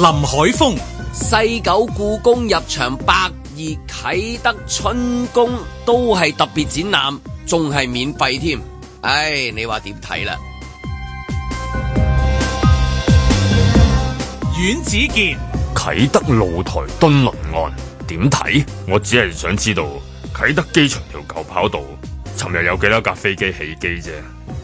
林海峰。 西九故宮入場120，啟德春宮都係特別展覽，仲係免費添。唉，你話點睇啦？ 阮子健， 啟德露台敦倫岸點睇？我只係想知道啟德機場條舊跑道尋日有幾多架飛機起機啫。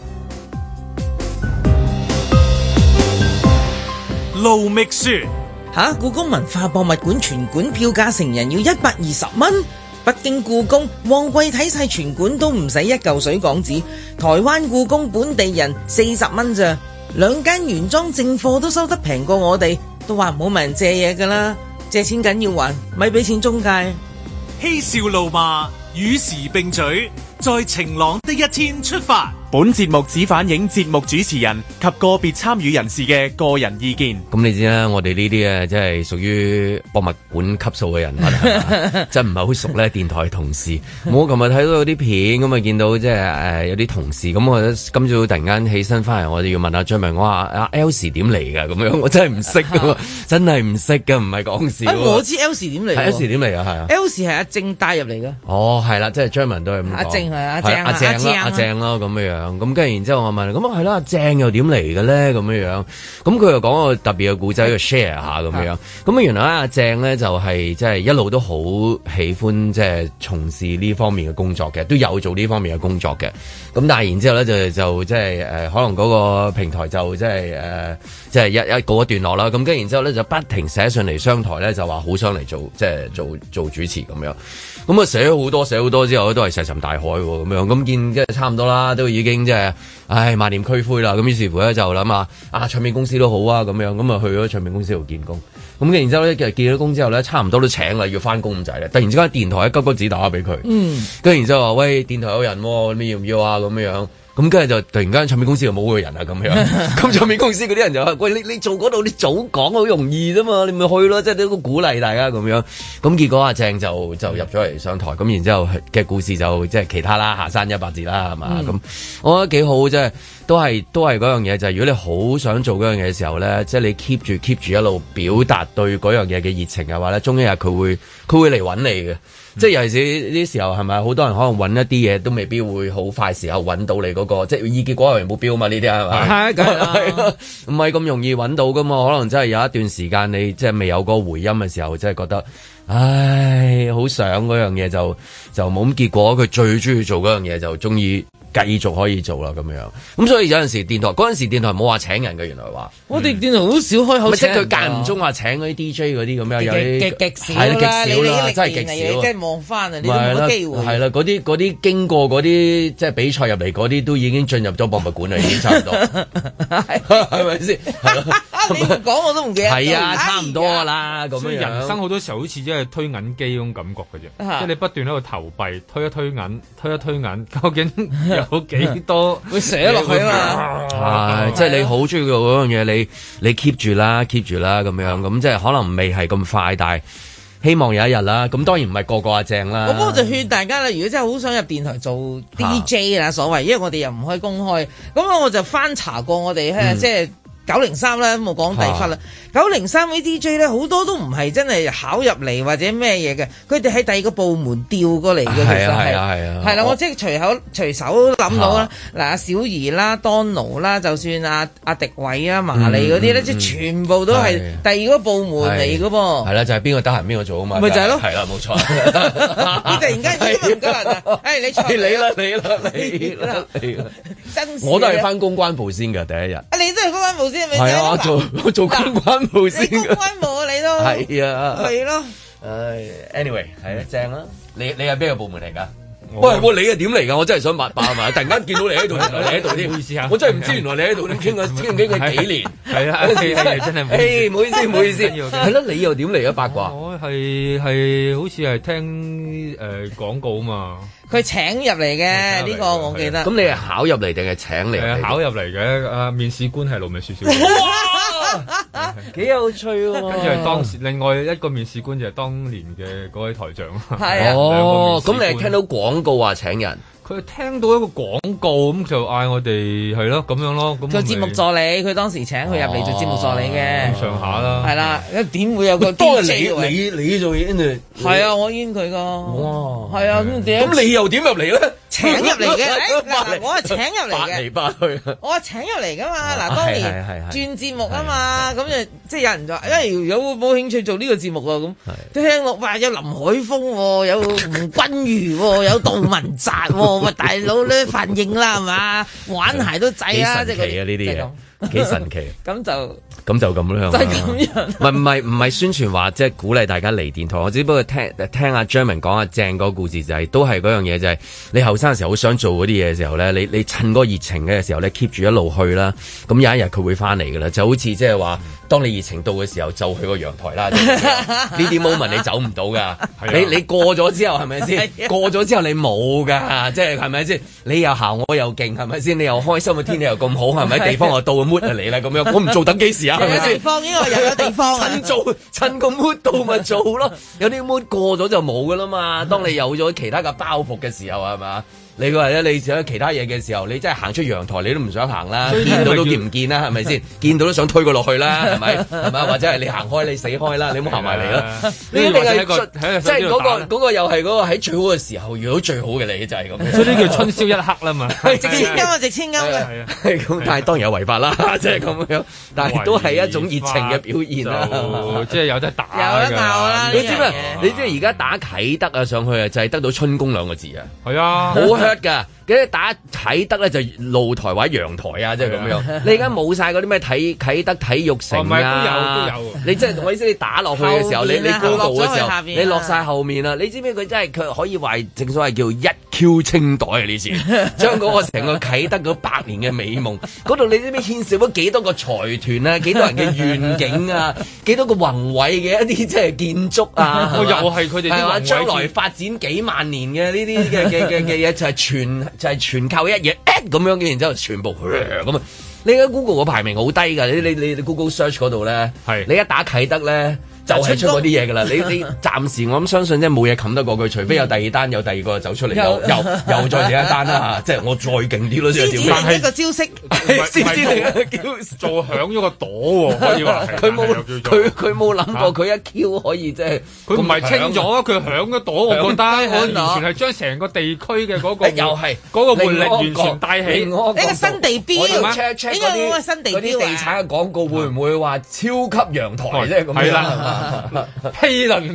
盧覓雪， 故宮文化博物館全館票價成人要120蚊，北京故宮旺季睇晒全館都唔使1嚿水港紙，台灣故宮本地人40蚊咋，2間原裝正貨都收得平過我哋，都話唔好問人借嘢噶啦，借錢緊要還，咪俾錢中介。 嬉笑怒罵與時並舉，在晴朗的一天出發。 本節目只反映節目主持人及個別參與人士嘅個人意見。 咁你知啦，我哋呢啲即係屬於博物館級數嘅人物，真唔係好熟咧。電台同事，我琴日睇到有啲片，咁啊見到即係有啲同事，咁我今朝突然間起身翻嚟，我就要問阿張明，我話阿 Elsie 點嚟㗎？咁樣我真係唔識㗎，真係唔識㗎，唔係講笑。 我知 Elsie 點嚟 ，Elsie 點嚟啊？係啊 ，Elsie 係阿正帶入嚟㗎。 哦，係啦，即係張文都係咁講。 阿正係阿正咯，咁樣樣。咁跟住然之後我問，咁啊係啦，阿正又點嚟嘅咧？咁樣樣。咁佢又講個特別嘅故仔，要 share 下咁樣。咁啊原來阿正咧就係即係一路都好喜歡即係從事呢方面嘅工作嘅，都有做呢方面嘅工作嘅。咁但係然之後咧就即係可能嗰個平台就即係一告一段落啦。咁跟住然之後咧就不停寫上嚟商台咧，就話好想嚟做即係做主持咁樣。咁啊寫好多之後都係石沉大海喎咁樣。咁見即係差唔多啦，都已經即係萬念俱灰啦。咁於是乎咧就諗唱片公司都好啊咁樣。咁啊去咗唱片公司度見工。咁跟然之後咧，其實見咗工之後咧，差唔多都請啦，要翻工咁滯咧。突然之間電台一急急子打俾佢，跟住然之後話喂，電台有人喎，你要唔要啊？咁樣。咁跟住就突然間唱片公司就冇個人啊咁樣，咁唱片公司嗰啲人就話：喂，你做嗰度你早講好容易啫嘛，你咪去咯，即係都鼓勵大家咁樣。咁結果阿正就入咗嚟上台，咁然之後嘅故事就即係其他啦，下山100字啦，係嘛？咁我覺得幾好，即係都係嗰樣嘢，就係如果你好想做嗰樣嘢嘅時候咧，即係你 keep 住一路表達對嗰樣嘢嘅熱情嘅話咧，終有一日佢會嚟揾你嘅。即係尤其是呢啲時候係咪好多人可能揾一啲嘢都未必會好快時候揾到你嗰個，即係以結果為目標嘛？呢啲係咪？係，梗係唔係咁容易揾到噶嘛？可能真係有一段時間你即係未有個回音嘅時候，真係覺得唉，好想嗰樣嘢就冇咁，結果佢最中意做嗰樣嘢就中意繼續可以做啦咁樣。咁所以有陣時電台冇話請人嘅，原來話我哋電台好少開口請人， 即係佢間唔中話請嗰啲 DJ 嗰啲咁樣，有啲極少啦，真係極少。即係望翻啊，你都冇機會。係啦，嗰啲經過嗰啲即係比賽入嚟嗰啲，都已經進入咗博物館啦，已經差唔多，係咪先？ 你唔講我都唔記得。 係啊，差唔多啦，咁樣。 人生好多時候好似即係推銀機嗰種感覺嘅啫，即係你不斷喺度投幣，推一推銀，究竟有幾多會寫落去啊嘛？ 即係你好中意嗰樣嘢，你 keep 住啦咁樣，咁即係可能未係咁快，但係希望有一日啦。咁當然唔係個阿正啦。 我就勸大家啦，如果真係好想入電台做 DJ 啦，所謂，因為我哋又唔可以公開，咁我就翻查過我哋即係903啦，冇講第忽啦。903啲 DJ 咧，好多都唔係真係考入嚟或者咩嘢嘅，佢哋喺第二個部門調過嚟嘅，其實係啦，我即係隨手諗到啦。嗱，阿小儀啦、Donald 啦，就算阿迪偉啊、麻利嗰啲咧，即係全部都係第二個部門嚟嘅噃。 係啦，就係邊個得閒邊個做啊嘛。 咪就係咯。 係啦，冇錯。 你突然間今日唔夠人啊？你啦！真我都係翻公關部先嘅第一日。 你都係公關部先係咪？ 係啊，我做公關部先。 公關部啊，你都係啊， 係咯。 anyway 係啊，正啦。你係邊個部門嚟㗎？喂，你係點嚟㗎？我真係想問埋。突然間見到你喺度，原來你喺度添。唔好意思啊，我真係唔知原來你喺度。你傾佢幾年？係啊，真係。唔好意思。係咯，你又點嚟啊？八卦。 我係好似係聽廣告啊嘛。 佢請入嚟嘅呢個我記得。 咁你係考入嚟定係請嚟？ 考入嚟嘅。面試官係盧覓雪小姐。 幾有趣喎。 跟住係當時另外一個面試官就係當年嘅嗰位台長。 係啊， 哦，咁你係聽到廣告話請人？ 佢聽到一個廣告咁就嗌我哋係咯咁樣咯，咁做節目助理，佢當時請佢入嚟做節目助理嘅， 咁上下啦。 係啦，點會有個都係 DJ 你做嘢， 係啊，我煙佢噶， 哇， 係啊， 咁你又點入嚟咧？ 請入嚟嘅，嗱，我係請入嚟嘅， 八嚟八去， 我係請入嚟噶嘛。嗱，當年轉節目啊嘛，咁就即係有人就話，有冇興趣做呢個節目啊？咁聽落話有林海峰，有吳君如，有杜汶澤，喂，大佬咧反應啦係嘛？玩鞋都制啊，即係嗰啲呢啲嘢。幾神奇， 咁就咁樣， 就係咁樣。 唔係宣傳話，即係鼓勵大家嚟電台。我只不過聽阿張明講阿正嗰個故事，就係都係嗰樣嘢，就係你後生嘅時候好想做嗰啲嘢嘅時候咧，你趁嗰個熱情嘅時候咧 keep 住一路去啦。咁有一日佢會翻嚟噶啦，就好似即係話，當你熱情到嘅時候，就去個陽台啦。呢啲 moment 你走唔到噶，你過咗之後係咪先？過咗之後你冇噶，即係係咪先？你又行我又勁係咪先？你又開心嘅天氣又咁好係咪？地方又到。mood 嚟啦咁樣，我唔做等幾時啊？係咪先？ 地方呢個又有地方啊！ 趁個 mood 到咪做咯，有啲 mood 過咗就冇噶啦嘛。當你有咗其他嘅包袱嘅時候係嘛？你話咧，你做其他嘢嘅時候，你真係行出陽台，你都唔想行啦，見到都見唔見啦，係咪先？見到都想推佢落去啦，係咪？係咪？或者係你行開，你死開啦，你唔好行埋嚟啦。呢一定係即係嗰個又係嗰個喺最好嘅時候遇到最好嘅你，就係咁。所以呢叫春宵一刻啦嘛。 值千金啊，值千金啊！ 係咁，但係當然有違法啦，即係咁樣。但係都係一種熱情嘅表現啦。 即係有得打， 有得鬧啦！ 你知唔知？你知而家打啟德啊上去啊，就係得到春宮兩個字啊。係啊， 好 hurt 㗎。跟住打啟德咧就露台或者陽台啊，即係咁樣。你而家冇晒嗰啲咩啟德體育城啊，都有。你即係我意思，你打落去嘅時候，你 Google 嘅時候，你落晒後面啦。你知唔知佢真係佢可以話正所謂叫一 Q 清袋啊？呢次將嗰個成個啟德嗰100年嘅美夢，嗰度你知唔知牽涉咗幾多個財團啊？幾多人嘅願景啊？幾多個宏偉嘅一啲即係建築啊？ 又係佢哋啲宏偉將來發展幾萬年嘅呢啲嘅嘢就係全靠一嘢咁樣嘅，然之後全部咁啊！你而家 Google 個排名好低㗎，你 Google Search 嗰度咧，你一打啟德咧。就係出嗰啲嘢㗎啦，你暫時我諗相信即係冇嘢冚得過佢，除非有第二單，有第二個走出嚟，又再另一單啦嚇，即係我再勁啲咯，先係點？一個招式， 先知你叫做響咗個朵喎，可以話佢冇諗過佢一 Q 可以即係佢唔係清咗，佢響咗朵，我覺得我完全係將成個地區嘅嗰個又係嗰個活力完全帶起， 呢個新地標， 應該嗰個新地標嗰啲地產嘅廣告會唔會話超級陽台啫咁樣？係啦。 毗鄰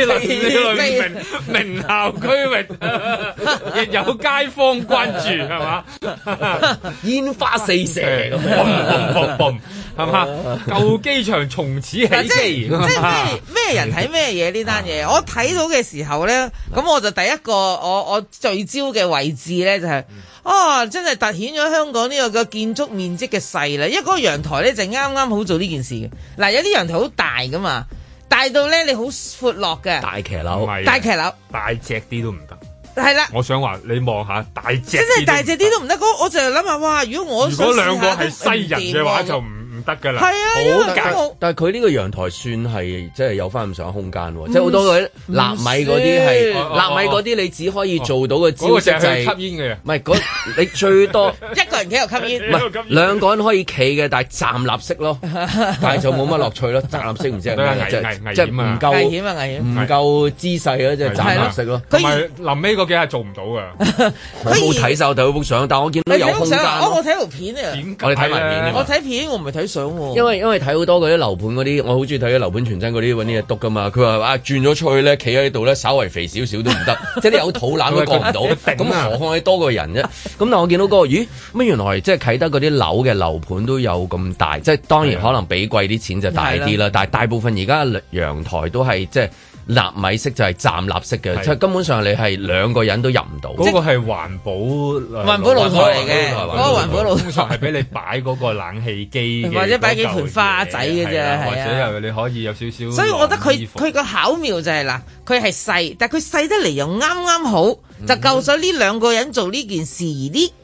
名校區域，亦有街坊關注，係嘛？ 煙花四射咁樣，係嘛？舊機場從此起機， 即係咩人睇咩嘢呢單嘢？我睇到嘅時候咧，咁我就第一個我聚焦嘅位置咧就係。真係凸顯咗香港呢個嘅建築面積嘅細啦，因為嗰個陽台咧就啱啱好做呢件事嘅。嗱，有啲陽台好大噶嘛，大到咧你好闊落嘅大騎樓， 大騎樓大隻啲都唔得。 係啦， 我想話你望下大隻，真係大隻啲都唔得。我就諗下，哇！如果兩個係西人嘅話就唔得㗎啦， 係啊， 但係佢呢個陽台算係即係有翻咁上下空間喎，即係好多嗰啲納米嗰啲係納米嗰啲，你只可以做到嘅招式就係吸煙嘅， 唔係你最多一個人企度吸煙， 唔係兩個人可以企嘅，但係站立式咯，但係就冇乜樂趣咯，站立式唔知係咩，即係唔夠危險啊，危險， 唔夠姿勢咯，即係站立式咯。 同埋臨尾嗰幾下做唔到㗎， 我冇睇晒我睇嗰幅相，但我見到有空間。 我睇條片啊， 我哋睇埋片， 我睇片我唔係睇。 因為睇好多嗰啲樓盤嗰啲，我好中意睇啲樓盤傳真嗰啲揾啲嘢篤噶嘛。佢話轉咗出去咧，企喺度咧，稍微肥少少都唔得，即係你有肚腩都過唔到。咁何況你多個人啫？咁但我見到嗰個，咦？乜原來即係啟德嗰啲樓嘅樓盤都有咁大，即係當然可能比貴啲錢就大啲啦。但係大部分而家陽台都係即係。納米式就係站立式嘅，即係根本上你係兩個人都入唔到。 嗰個係環保露台嚟嘅，嗰個環保露台通常係俾你擺嗰個冷氣機， 或者擺幾盆花仔嘅啫， 或者又你可以有少少。 所以我覺得佢個巧妙就係嗱，佢係細，但係佢細得嚟又啱啱好，就夠咗呢兩個人做呢件事，而呢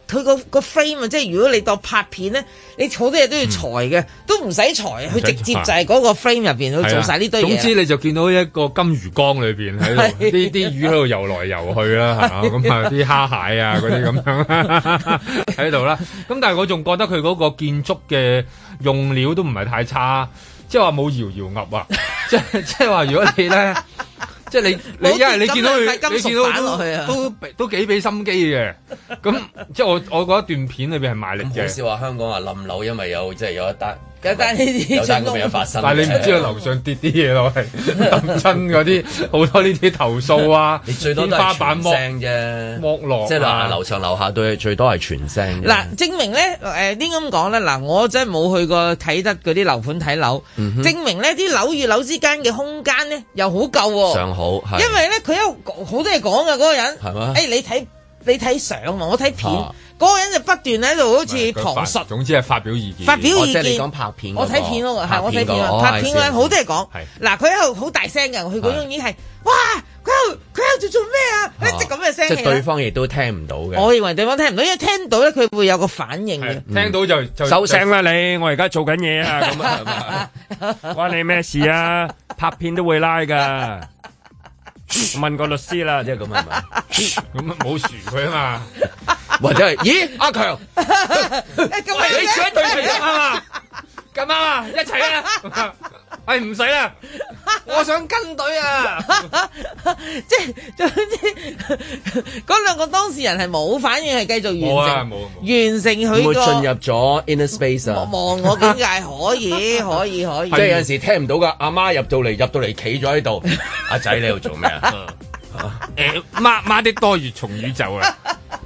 佢個 frame 啊，即係如果你當拍片咧，你好多嘢都要裁嘅，都唔使裁，佢直接就係嗰個 frame 入邊去做晒呢堆嘢。 總之你就見到一個金魚缸裏邊喺度，啲魚喺度游來游去啦，係嘛？咁啊啲蝦蟹啊嗰啲咁樣喺度啦。咁但係我仲覺得佢嗰個建築嘅用料都唔係太差，即係話冇搖搖鴨啊！即係話如果你咧。即係你因為你見到佢，你見到都幾俾心機嘅。咁即係我覺得段片裏邊係賣力嘅。 好少話香港話冧樓，因為有即係有一單。 有單咁嘅發生， 但係你唔知道樓上跌啲嘢落嚟，揼親嗰啲好多呢啲投訴啊！ 你最多都係傳聲啫，剝落，即係話樓上樓下對最多係傳聲。 嗱，證明咧應該咁講咧，嗱，我真係冇去過睇得嗰啲樓盤睇樓，證明咧啲樓與樓之間嘅空間咧又好夠喎，上好，因為咧佢有好多嘢講嘅嗰個人，係嘛？你睇相啊，我睇片。嗰個人就不斷喺度好似旁述， 總之係發表意見。 發表意見， 即係你講拍片， 我睇片嗰個係我睇片啊，拍片嗰人好多嘢講。嗱，佢喺度好大聲嘅，佢嗰種已經係哇，佢喺度做咩啊？一直咁嘅聲氣。 即係對方亦都聽唔到嘅。 我認為對方聽唔到，因為聽到咧佢會有個反應嘅。 聽到就收聲啦你，我而家做緊嘢啊！咁啊，關你咩事啊？拍片都會拉㗎。問個律師啦，即係咁係咪？ 咁啊冇樹佢啊嘛， 或者係咦阿強， 你選對齊咁啊，咁啊一齊啊，係唔使啦，我想跟隊啊， 即係總之嗰兩個當事人係冇反應，係繼續完成佢個進入咗 inner space 啊， 望我境界可以， 即係有陣時聽唔到噶，阿媽入到嚟企咗喺度，阿仔你喺度做咩啊？ 媽的多月從宇宙啊！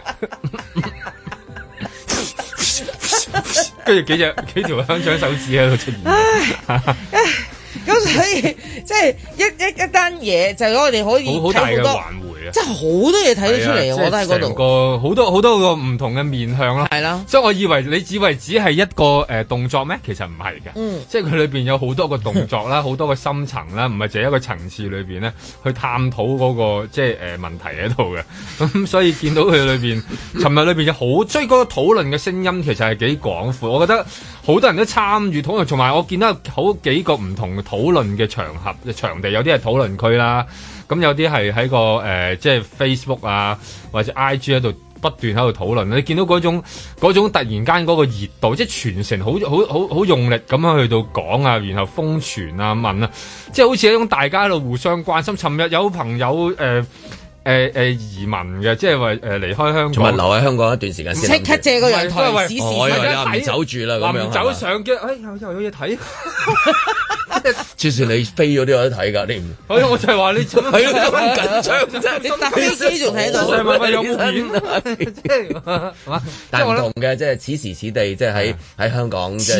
跟住幾條香腸手指喺度出現， 咁所以即係一單嘢就我哋可以好大嘅環迴啊！ 即係好多嘢睇得出嚟，我覺得喺嗰度個好多個唔同嘅面向咯，係啦。所以我以為你只係一個動作咩？其實唔係嘅，即係佢裏邊有好多個動作啦，好多個深層啦，唔係淨係一個層次裏邊咧去探討嗰個即係問題喺度嘅。咁所以見到佢裏邊，尋日裏邊有好追嗰個討論嘅聲音，其實係幾廣闊。我覺得好多人都參與討論，同埋我見到好幾個唔同嘅討論嘅場地，有啲係討論區啦。咁有啲係喺個即係 Facebook 啊，或者 IG 喺度不斷喺度討論。你見到嗰種突然間嗰個熱度，即係全城好用力咁樣去到講啊，然後瘋傳啊問啊，即係好似一種大家喺度互相關心。尋日有朋友移民嘅，即係話離開香港， 仲係留喺香港一段時間先。 即刻借個陽台試試。 我以為你唔走住啦，咁樣唔走上嘅，又有嘢睇。 就算你飛咗都有得睇㗎，你唔？ 我就係話你做乜咁緊張啫？ 你搭飛機仲喺度？ 有冇片？ 但係唔同嘅，即係此時此地，即係喺香港。此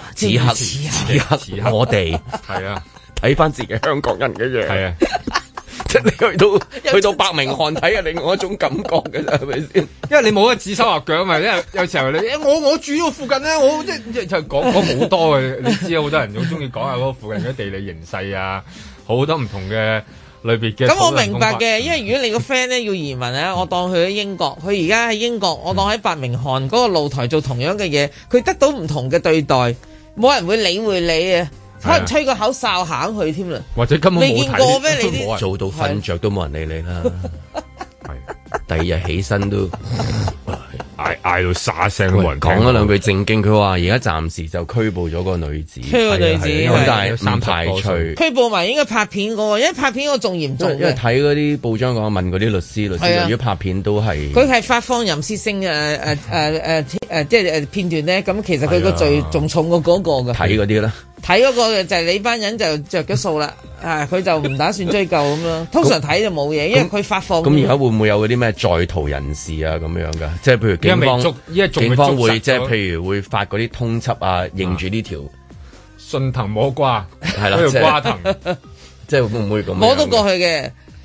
刻，我哋係啊， 睇翻自己香港人嘅嘢。 係啊。 即係你去到伯明翰睇係另外一種感覺嘅啫，係咪先？ 因為你冇得指手畫腳嘛，因為有時候你我住呢個附近咧，我即係講好多嘅，你知啊，好多人好中意講下嗰個附近嘅地理形勢啊，好多唔同嘅類別嘅。 咁我明白嘅，因為如果你個 friend 咧要移民咧，我當佢喺英國，佢而家喺英國，我當喺伯明翰嗰個露台做同樣嘅嘢，佢得到唔同嘅對待，冇人會理會你啊。可能吹個口哨行去添啦， 或者根本未見過咩？你啲做到瞓着都冇人理你啦。係第二日起身都嗌到沙聲，冇人講咗兩句正經。佢話而家暫時就拘捕咗個女子， 個女子咁但係唔排除拘捕埋應該拍片個，因為拍片個仲嚴重。 因為睇嗰啲報章講問嗰啲律師，如果拍片都係佢係發放淫褻性即係片段咧，咁其實佢個罪仲重過嗰個嘅。 睇嗰啲啦。 睇嗰個就係你班人就着咗數啦，佢就唔打算追究咁咯。通常睇就冇嘢，因為佢發放。 咁而家會唔會有嗰啲咩在逃人士啊咁樣噶？即係譬如警方會即係譬如會發嗰啲通緝啊，認住呢條順藤摸瓜， 係啦， 嗰條瓜藤， 即係會唔會咁？ 摸到過去嘅。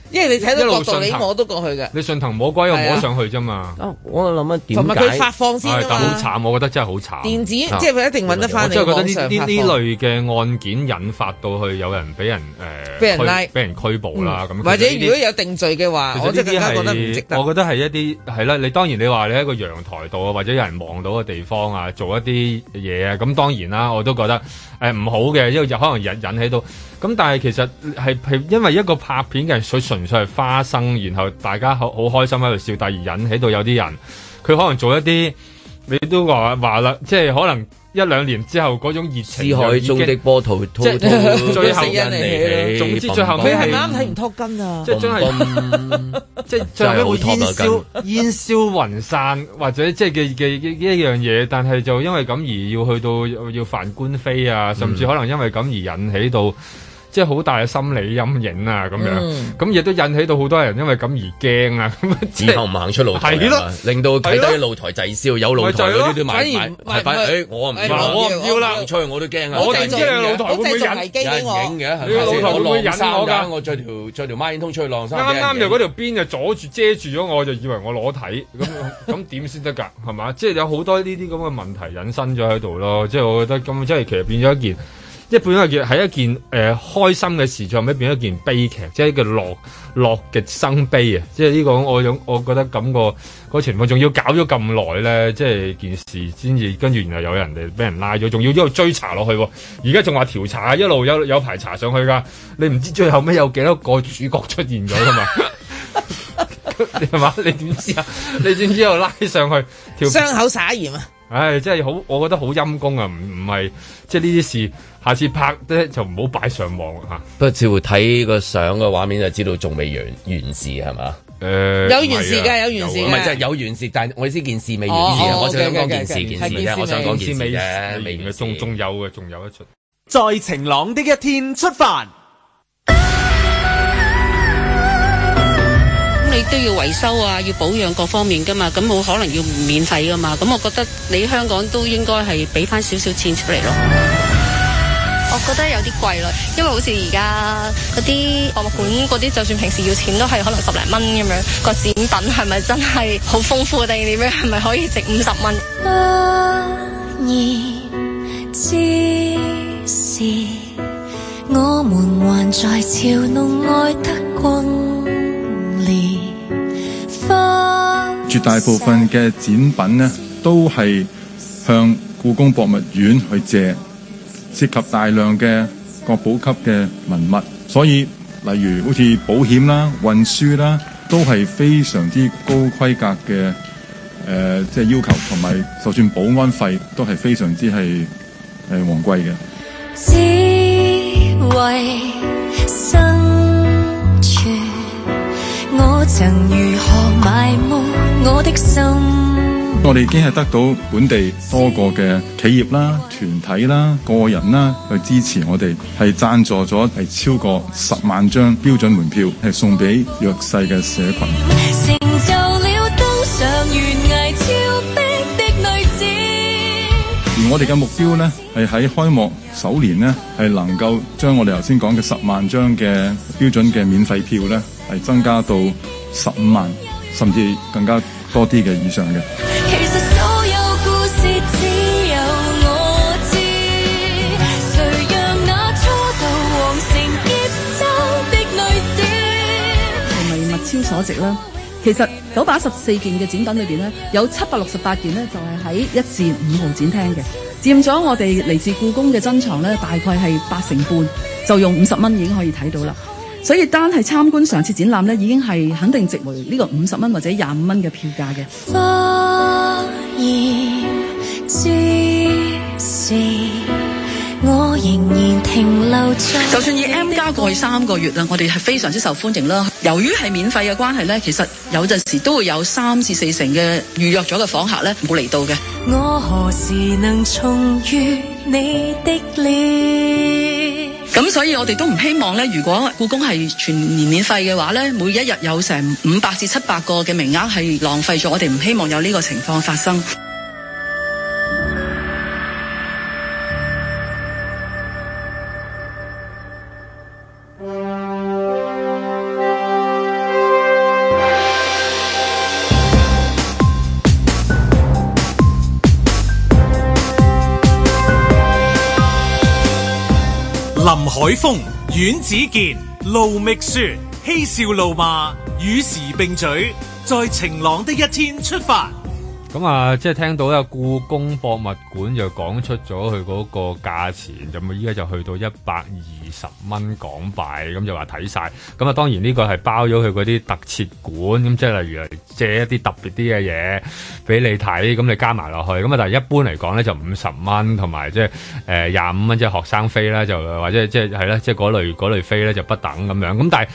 因為你睇到角度，你摸到過去嘅。 你順藤摸瓜又摸上去啫嘛。 我諗啊，點解？ 同埋佢發放先啊嘛。 但好慘，我覺得真係好慘。 電子即係佢一定揾得翻你網上發放。 我真係覺得呢類嘅案件引發到去有人俾人俾人拉、俾人拘捕啦咁。 或者如果有定罪嘅話，我真係更加覺得唔值得。 我覺得係一啲係啦，你當然你話你喺個陽台度啊，或者有人望到嘅地方啊，做一啲嘢啊，咁當然啦，我都覺得唔好嘅，因為就可能引起到。咁但係其實係因為一個拍片嘅，佢純粹係花生，然後大家好開心喺度笑，但而引起到有啲人，佢可能做一啲，你都話啦，即係可能1-2年之後嗰種熱情， 思海中的波濤滔滔， 最後因你， 總之最後佢係啱睇唔拖筋啊！ 即係真係，即係最後尾會煙消雲散，或者即係嘅一樣嘢，但係就因為咁而要去到要犯官非啊，甚至可能因為咁而引起到。即係好大嘅心理陰影啊，咁樣，咁亦都引起到好多人因為咁而驚啊，咁以後唔行出露台，係咯，令到睇低露台滯銷，有露台嗰啲都買，我唔要啦，出去我都驚啊！ 我哋知你露台會唔會引影嘅？ 你個露台會唔會引我㗎？ 我着條孖煙通出去晾衫， 啱就嗰條邊就阻住遮住咗，我就以為我裸體，咁點先得㗎？係嘛？即係有好多呢啲咁嘅問題引申咗喺度咯。即係我覺得咁，即係其實變咗一件。一本係一件開心嘅事，最後尾變咗一件悲劇，即係一個樂極生悲啊！即係呢個我覺得咁個情況，仲要搞咗咁耐咧，即係件事先至跟住，然後有人哋俾人拉咗，仲要一路追查落去喎。而家仲話調查，一路有排查上去㗎。你唔知最後尾有幾多個主角出現咗㗎嘛？係嘛？你點知啊？你點知又拉上去傷口撒鹽啊！ 唉，真係好，我覺得好陰功啊！唔係即係呢啲事。下次拍咧就唔好擺上網嚇。不過似乎睇個相嘅畫面就知道仲未完事係嘛？ 有完事㗎，有完事。 唔係即係有完事，但係我意思件事未完事啊！我想講件事啫，我想講件事啫，未完事。 仲有嘅，仲有一出。 在晴朗的一天出發。 咁你都要維修啊，要保養各方面㗎嘛，咁冇可能要免費㗎嘛。咁我覺得你香港都應該係俾翻少少錢出嚟咯。 我覺得有啲貴咯，因為好似而家嗰啲博物館嗰啲，就算平時要錢都係可能10零蚊咁樣。個展品係咪真係好豐富定點樣？係咪可以值50蚊？不然之時，我們還在嘲弄愛得轟烈。 絕大部分嘅展品呢，都係向故宮博物院去借。涉及大量嘅國寶級嘅文物，所以例如好似保險啦、運輸啦，都係非常之高規格嘅即係要求，同埋就算保安費都係非常之係昂貴嘅。只為生存，我曾如何埋沒我的心。我哋已經係得到本地多個嘅企業啦、團體啦、個人啦去支持我哋，係贊助咗係超過10萬張標準門票，係送俾弱勢嘅社群。成就了登上懸崖峭壁的女子。而我哋嘅目標呢，係喺開幕首年呢，係能夠將我哋頭先講嘅10萬張嘅標準嘅免費票呢，係增加到15萬，甚至更加多啲嘅以上嘅。 超所值啦，其實914件嘅展品裏邊呢，有768件呢就係喺1至5號展廳嘅，佔咗我哋嚟自故宮嘅珍藏呢，大概係8成半，就用50蚊已經可以睇到啦。所以單係參觀上次展覽呢，已經係肯定值回呢個50蚊或者25蚊嘅票價嘅。花言之時，我仍然停留在。就算以 M+ 過去3個月啦，我哋係非常之受歡迎啦。由於係免費嘅關係咧，其實有陣時都會有3至4成嘅預約咗嘅訪客咧冇嚟到嘅。我何時能重遇你的臉？咁所以我哋都唔希望咧，如果故宮係全年免費嘅話咧，每一日有成500至700個嘅名額係浪費咗，我哋唔希望有呢個情況發生。 海峰、阮子健、盧覓雪，嬉笑怒罵，與時並舉，在晴朗的一天出發。 咁啊，即係聽到有故宮博物館就講出咗佢嗰個價錢，咁啊依家就去到120蚊港幣，咁就話睇晒。咁啊，當然呢個係包咗佢嗰啲特設館，咁即係例如借一啲特別啲嘅嘢俾你睇，咁你加埋落去。咁啊，但係一般嚟講咧就50蚊，同埋即係25蚊，即係學生飛啦，就或者即係係啦，即係嗰類飛咧就不等咁樣。咁但係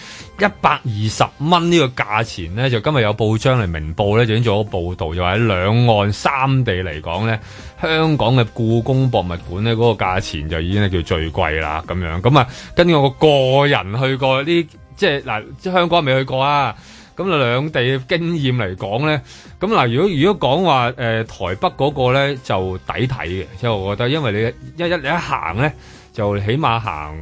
120蚊呢個價錢咧，就今日有報章嚟明報咧就已經做咗報導，就話喺兩岸三地嚟講咧，香港嘅故宮博物館咧嗰個價錢就已經係叫最貴啦咁樣。咁啊，根據我個人去過啲，即係嗱，即係香港未去過啊。咁啊，兩地嘅經驗嚟講咧，咁嗱，如果講話台北嗰個咧就抵睇嘅，即係我覺得，因為你一行咧就起碼行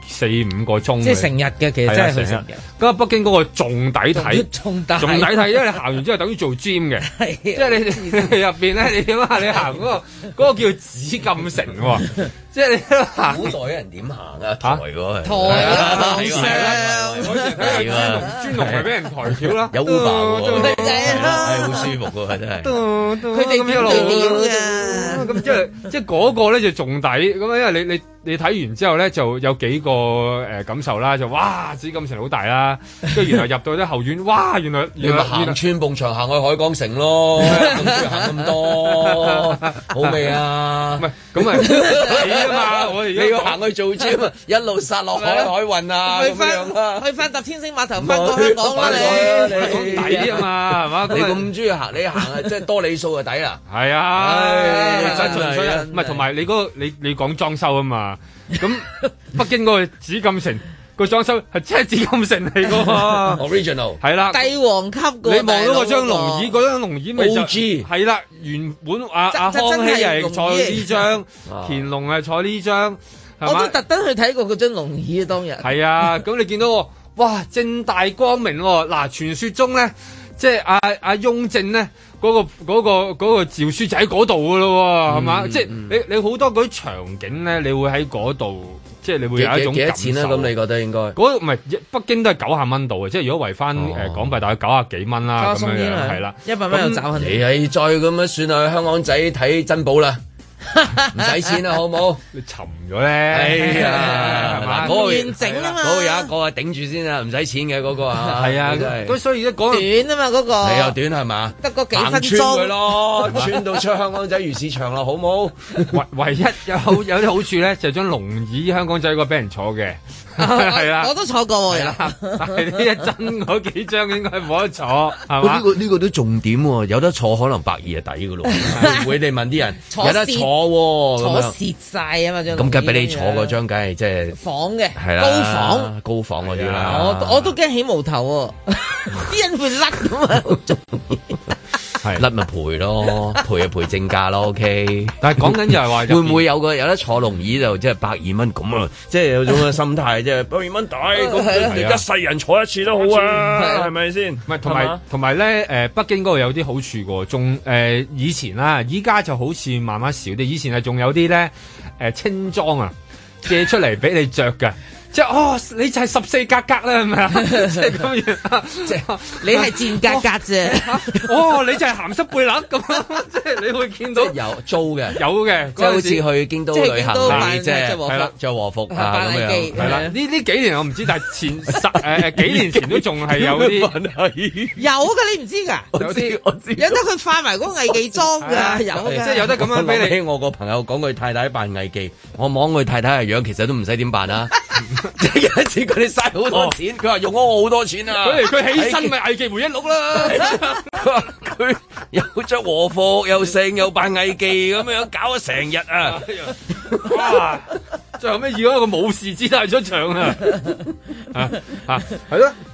4-5個鐘，即係成日嘅，其實真係成日。咁啊，北京嗰個仲抵睇，仲抵睇，因為你行完之後等於做 gym 嘅，即係你入邊咧，你點啊？你行嗰個叫紫禁城喎，即係你行。 古代人點行啊？抬嗰個抬啊！ 係啊！專龍咪俾人抬轎啦， 有 Uber 喎， 係好舒服㗎，真係。 佢哋咁一路㗎， 咁即係嗰個咧就仲抵咁啊！因為你睇完之後咧就有幾個感受啦，就哇紫禁城好大啦，跟住然後入到啲後院，哇原來行穿埲牆行去海港城咯，行咁多好味啊！ 唔係咁啊抵啊嘛！我哋你要行去做 gym 啊，一路殺落海運啊，咁樣啊， 去翻搭天星碼頭翻過香港啦你抵啊嘛係嘛？ 你咁中意行，你行啊即係多里數就抵啦。 係啊，真係唔係同埋你嗰個你講裝修啊嘛。咁北京嗰個紫禁城個裝修係真係紫禁城嚟㗎嘛 ，original 係啦， 帝王級㗎。 你望到嗰張龍椅，嗰張龍椅咪就係啦，原本阿康熙係坐呢張，乾隆係坐呢張， 我都特登去睇過嗰張龍椅啊，當日。 係啊，咁你見到哇正大光明喎，嗱傳說中咧，即係阿雍正咧。嗰個詔書就喺嗰度噶咯，係嘛？即係你好多嗰啲場景咧，你會喺嗰度，即係你會有一種幾多錢咧？咁你覺得應該？ 嗰唔係北京都係90蚊度嘅，即係如果圍翻港幣大概90幾蚊啦，咁樣係啦 ，100蚊又找你係再咁樣算啦，香港仔睇珍寶啦。唔使錢啦，好唔好？ 你沉咗咧，係啊，係嘛？ 嗰個完整啊嘛， 嗰個有一個啊頂住先啊，唔使錢嘅嗰個啊， 係啊，咁所以而家講短啊嘛嗰個， 你又短係嘛？ 得個幾分鐘穿佢咯，穿到出香港仔魚市場啦，好唔好？ 唯一有啲好處咧，就係張龍椅香港仔嗰個俾人坐嘅。係啦， 我都坐過喎， 但係呢一真嗰幾張應該冇得坐，係嘛？ 呢個都重點喎，有得坐可能120係抵噶咯。會你問啲人有得坐喎， 坐蝕晒啊嘛張。 咁梗係俾你坐嗰張，梗係即係房嘅， 係啦，高房嗰啲啦。 我都驚起毛頭喎，啲人會甩咁啊，好中意。 甩咪賠咯，賠就賠正價咯，OK。 但係講緊就係話， 會唔會有得坐龍椅就即係120蚊咁啊？即係有種嘅心態，即係120蚊抵，咁一世人坐一次都好啊，係咪先？ 唔係同埋咧，北京嗰度有啲好處嘅，仲以前啦，依家就好似慢慢少啲。以前係仲有啲咧清裝啊，借出嚟俾你着㗎。即係你就係14格格啦，係咪啊？即係咁樣， 即係你係賤格格啫。 你就係鹹濕背囊咁，即係你會見到有租嘅， 有嘅， 即係好似去京都旅行即係係啦， 着和服啊咁樣。 係啦，呢幾年我唔知，但係前幾年前都仲係有啲有㗎，你唔知㗎？我知，有得佢化埋嗰個藝妓裝㗎，有嘅， 即係有得咁樣俾你。 我個朋友講佢太太扮藝妓，我望佢太太嘅樣，其實都唔使點辦啊。即係有一次佢哋嘥好多錢，佢話用咗我好多錢啊！ 佢起身咪藝妓回憶錄啦。 佢又着和服，又剩又扮藝妓咁樣，搞咗成日啊！ 哇！最後尾以一個武士姿態出場啊！係咯，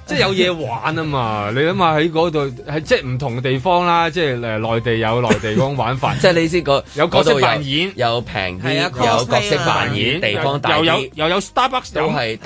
即係有嘢玩啊嘛！你諗下喺嗰度係即係唔同嘅地方啦，即係內地有內地嗰種玩法， 即係你知有角色扮演， 有平啲，有角色扮演，地方大啲， 又有 Starbucks， 都係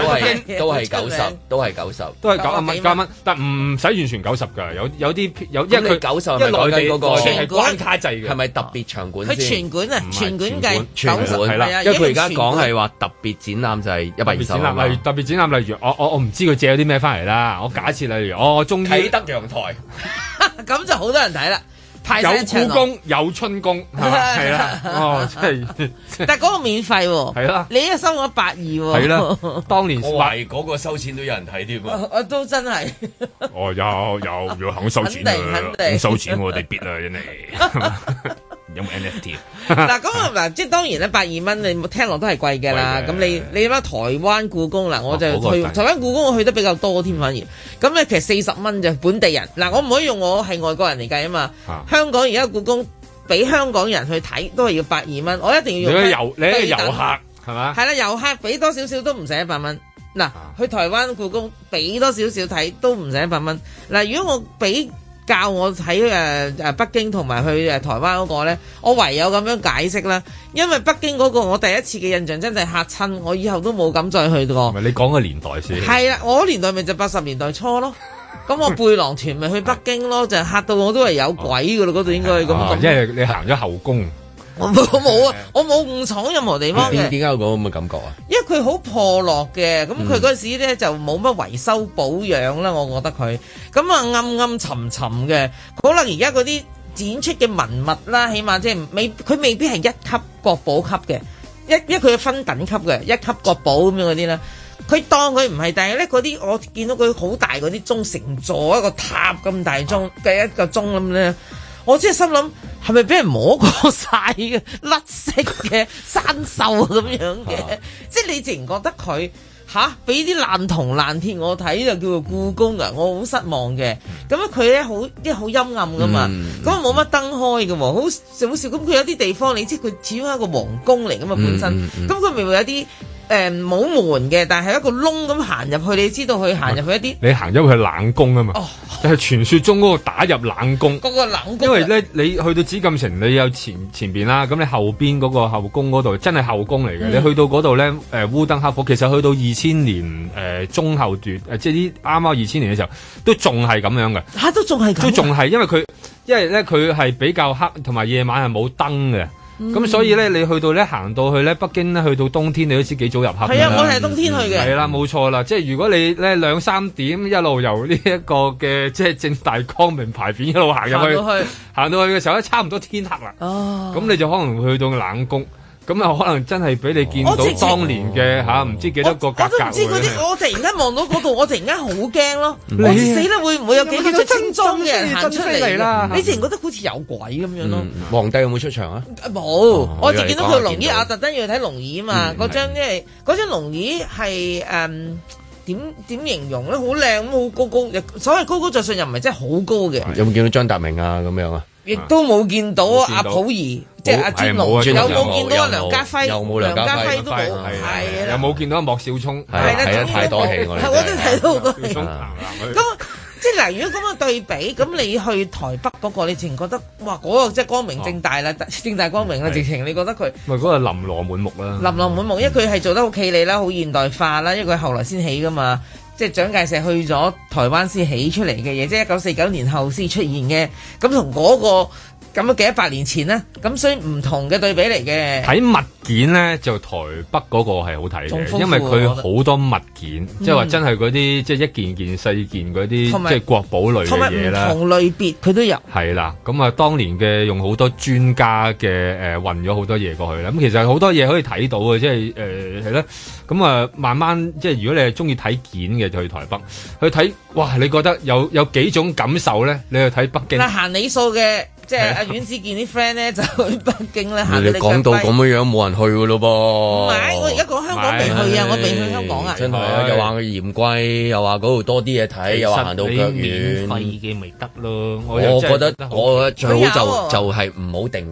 90，都係90 幾蚊，但唔使完全90㗎，有啲因為佢 90 係內地嗰個係關卡制嘅， 係咪特別場館佢全館啊，全館計全館係啦， 因為佢而家講係話特別展覽就係120， 例如特別展覽，例如我唔知佢借咗啲咩翻嚟啦，我假設例如我終於啟德陽台， 咁就好多人睇啦。 有故宮有春宮係啦，哦，真係， 但係嗰個免費喎， 係啦， 你一收咗120喎， 係啦，當年我懷疑嗰個收錢都有人睇添啊， 都真係， 哦，有肯收錢啊，肯收錢我哋必啊，真係。有冇 NFT 嗱咁嗱，即係當然咧，120蚊你聽落都係貴嘅啦。咁你諗下台灣故宮嗱，我就去台灣故宮，我去得比較多添，反而咁咧其實40蚊就本地人嗱，我唔可以用我係外國人嚟計啊嘛。香港而家故宮俾香港人去睇都係要120蚊，我一定要用。 你係遊客係嘛？ 係啦，遊客俾多少少都唔使100蚊。嗱，去台灣故宮俾多少少睇都唔使100蚊。嗱，如果我俾教我睇北京同埋去台灣嗰個咧，我唯有咁樣解釋啦。因為北京嗰個我第一次嘅印象真係嚇親，我以後都冇敢再去過。 唔係你講個年代先。係啦，我年代咪就80年代初咯。咁我背囊團咪去北京咯，就嚇到我都係有鬼噶啦，嗰度應該咁。 因為你行咗後宮。 我冇啊，我冇誤闖任何地方嘅。 點解有嗰咁嘅感覺啊？ 因為佢好破落嘅，咁佢嗰時咧就冇乜維修保養啦，我覺得佢咁啊暗暗沉沉嘅。可能而家嗰啲展出嘅文物啦，起碼即係佢未必係一級國寶級嘅，因為佢分等級嘅，一級國寶咁樣嗰啲咧，佢當佢唔係，但係咧嗰啲我見到佢好大嗰啲鐘，成座一個塔咁大鐘嘅一個鐘咁咧。我真係心諗，係咪俾人摸過晒嘅甩色嘅生鏽咁樣嘅？即係你自然覺得佢俾啲爛銅爛鐵我睇就叫做故宮啊！我好失望嘅。咁樣佢咧好陰暗噶嘛，咁啊冇乜燈開嘅喎，好少。咁佢有啲地方你知佢始終係一個皇宮嚟噶嘛本身，咁佢咪會有啲冇門嘅，但係一個窿咁行入去，你知道佢行入去一啲。你行咗去冷宮啊嘛，就係傳說中嗰個打入冷宮。嗰個冷宮。因為咧，你去到紫禁城，你有前邊啦，咁你後邊嗰個後宮嗰度真係後宮嚟嘅。你去到嗰度咧，烏燈黑火，其實去到2000年中後段，即係啲啱啱2000年嘅時候，都仲係咁樣嘅。都仲係咁。都仲係，因為咧佢係比較黑，同埋夜晚係冇燈嘅。咁所以咧，你去到咧行到去咧北京咧，去到冬天你都知幾早入黑。係啊，我係冬天去嘅。係啦，冇錯啦。即係如果你咧2-3點一路由呢一個嘅即係正大光明牌匾一路行入去，行到去嘅時候咧，差唔多天黑啦。哦。咁你就可能去到冷宮。咁啊，可能真係俾你見到當年嘅唔知幾多個格格。我都唔知嗰啲，我突然間望到嗰度，我突然間好驚咯！我死啦，會唔會有幾個正裝嘅人行出嚟啦？你自然覺得好似有鬼咁樣咯。 皇帝有冇出場啊？ 冇，我就見到佢龍椅啊，特登要睇龍椅啊嘛。嗰張即係嗰張龍椅係點形容咧？好靚咁，好高，所謂高高在上又唔係真係好高嘅。 有冇見到張達明啊？咁樣啊？ 亦都冇見到阿溥儀，即係阿尊龍，有冇見到阿梁家輝？ 有冇梁家輝都冇，係啦。 有冇見到阿莫少聰？ 係啦，太多戲我哋。 我都睇到好多戲。咁即係嗱，如果咁樣對比，咁你去台北嗰個，你自然覺得哇，嗰個即係光明正大啦，正大光明啦，直情你覺得佢咪嗰個琳琅滿目啦。 琳琅滿目，因為佢係做得好企理啦，好現代化啦，因為佢後來先起噶嘛。即係蔣介石去咗台灣先起出嚟嘅嘢，即係1949年後先出現嘅，咁同嗰個咁樣幾100年前咧，咁所以唔同嘅對比嚟嘅。 睇物件咧，就台北嗰個係好睇嘅，因為佢好多物件，即係話真係嗰啲即係一件件細件嗰啲，即係國寶類嘅嘢啦。 同類別佢都有。係啦，咁啊，當年嘅用好多專家嘅運咗好多嘢過去啦。咁其實好多嘢可以睇到嘅，即係係啦。咁啊，慢慢即係如果你係中意睇件嘅，就去台北去睇。哇！你覺得有幾種感受咧？你去睇北京。嗱，行里數嘅。即係阿阮子健啲 friend 咧，就去北京咧行。 你講到咁樣冇人去噶咯噃。 唔係，我而家講香港未去啊，我未去香港啊。 真係啊，又話佢嫌貴，又話嗰度多啲嘢睇，又話行到腳遠。 免費嘅咪得咯。 我覺得最好就係唔好定價。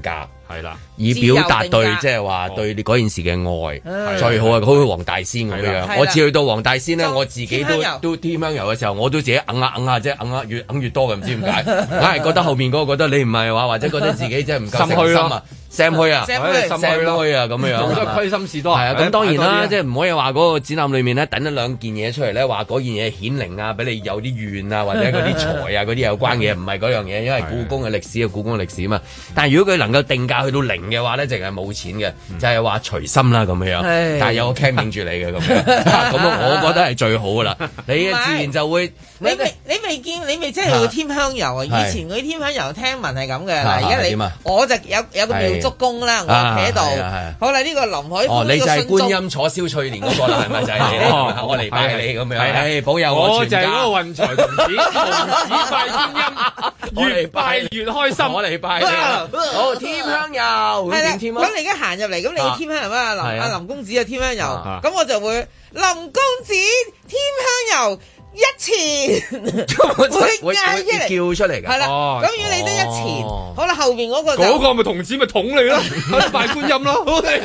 係啦， 以表達對即係話對你嗰件事嘅愛，最好係好似黃大仙咁樣。我次去到黃大仙咧，我自己都添香油嘅時候，我都自己揞下即係揞越揞越多嘅，唔知點解，硬係覺得後面嗰個覺得你唔係話，或者覺得自己即係唔夠誠心啊。Sam 虛啊，Sam 虛啊，咁樣樣， 好多虧心事多。 係啊，咁當然啦，即係唔可以話嗰個展覽裏面咧，等咗兩件嘢出嚟咧，話嗰件嘢顯靈啊，俾你有啲怨啊，或者嗰啲財啊嗰啲有關嘅嘢，唔係嗰樣嘢，因為故宮嘅歷史啊，故宮嘅歷史啊嘛。但係如果佢能夠定價去到零嘅話咧，淨係冇錢嘅，就係話隨心啦咁樣。但係有個 cam 影住你嘅咁樣，咁我覺得係最好噶啦。你自然就會， 你未見，你未真係會添香油啊？以前嗰啲添香油聽聞係咁嘅，嗱而家你我就有個廟祝公啦，我企喺度。好啦，呢個林海峰， 你就係觀音坐燒翠蓮嗰個啦，係咪就係你？我嚟拜你咁樣，係保佑我全家。 我就係嗰個運財童子，童子拜觀音，越拜越開心。 我嚟拜你。好，添香油， 係啦。咁你而家行入嚟，咁你添香油啊？林公子啊，添香油。咁我就會林公子添香油。一錢會嗌叫出嚟㗎， 係啦。咁如果你得一錢，好啦，後邊嗰個咪童子咪捅你咯，拜觀音咯。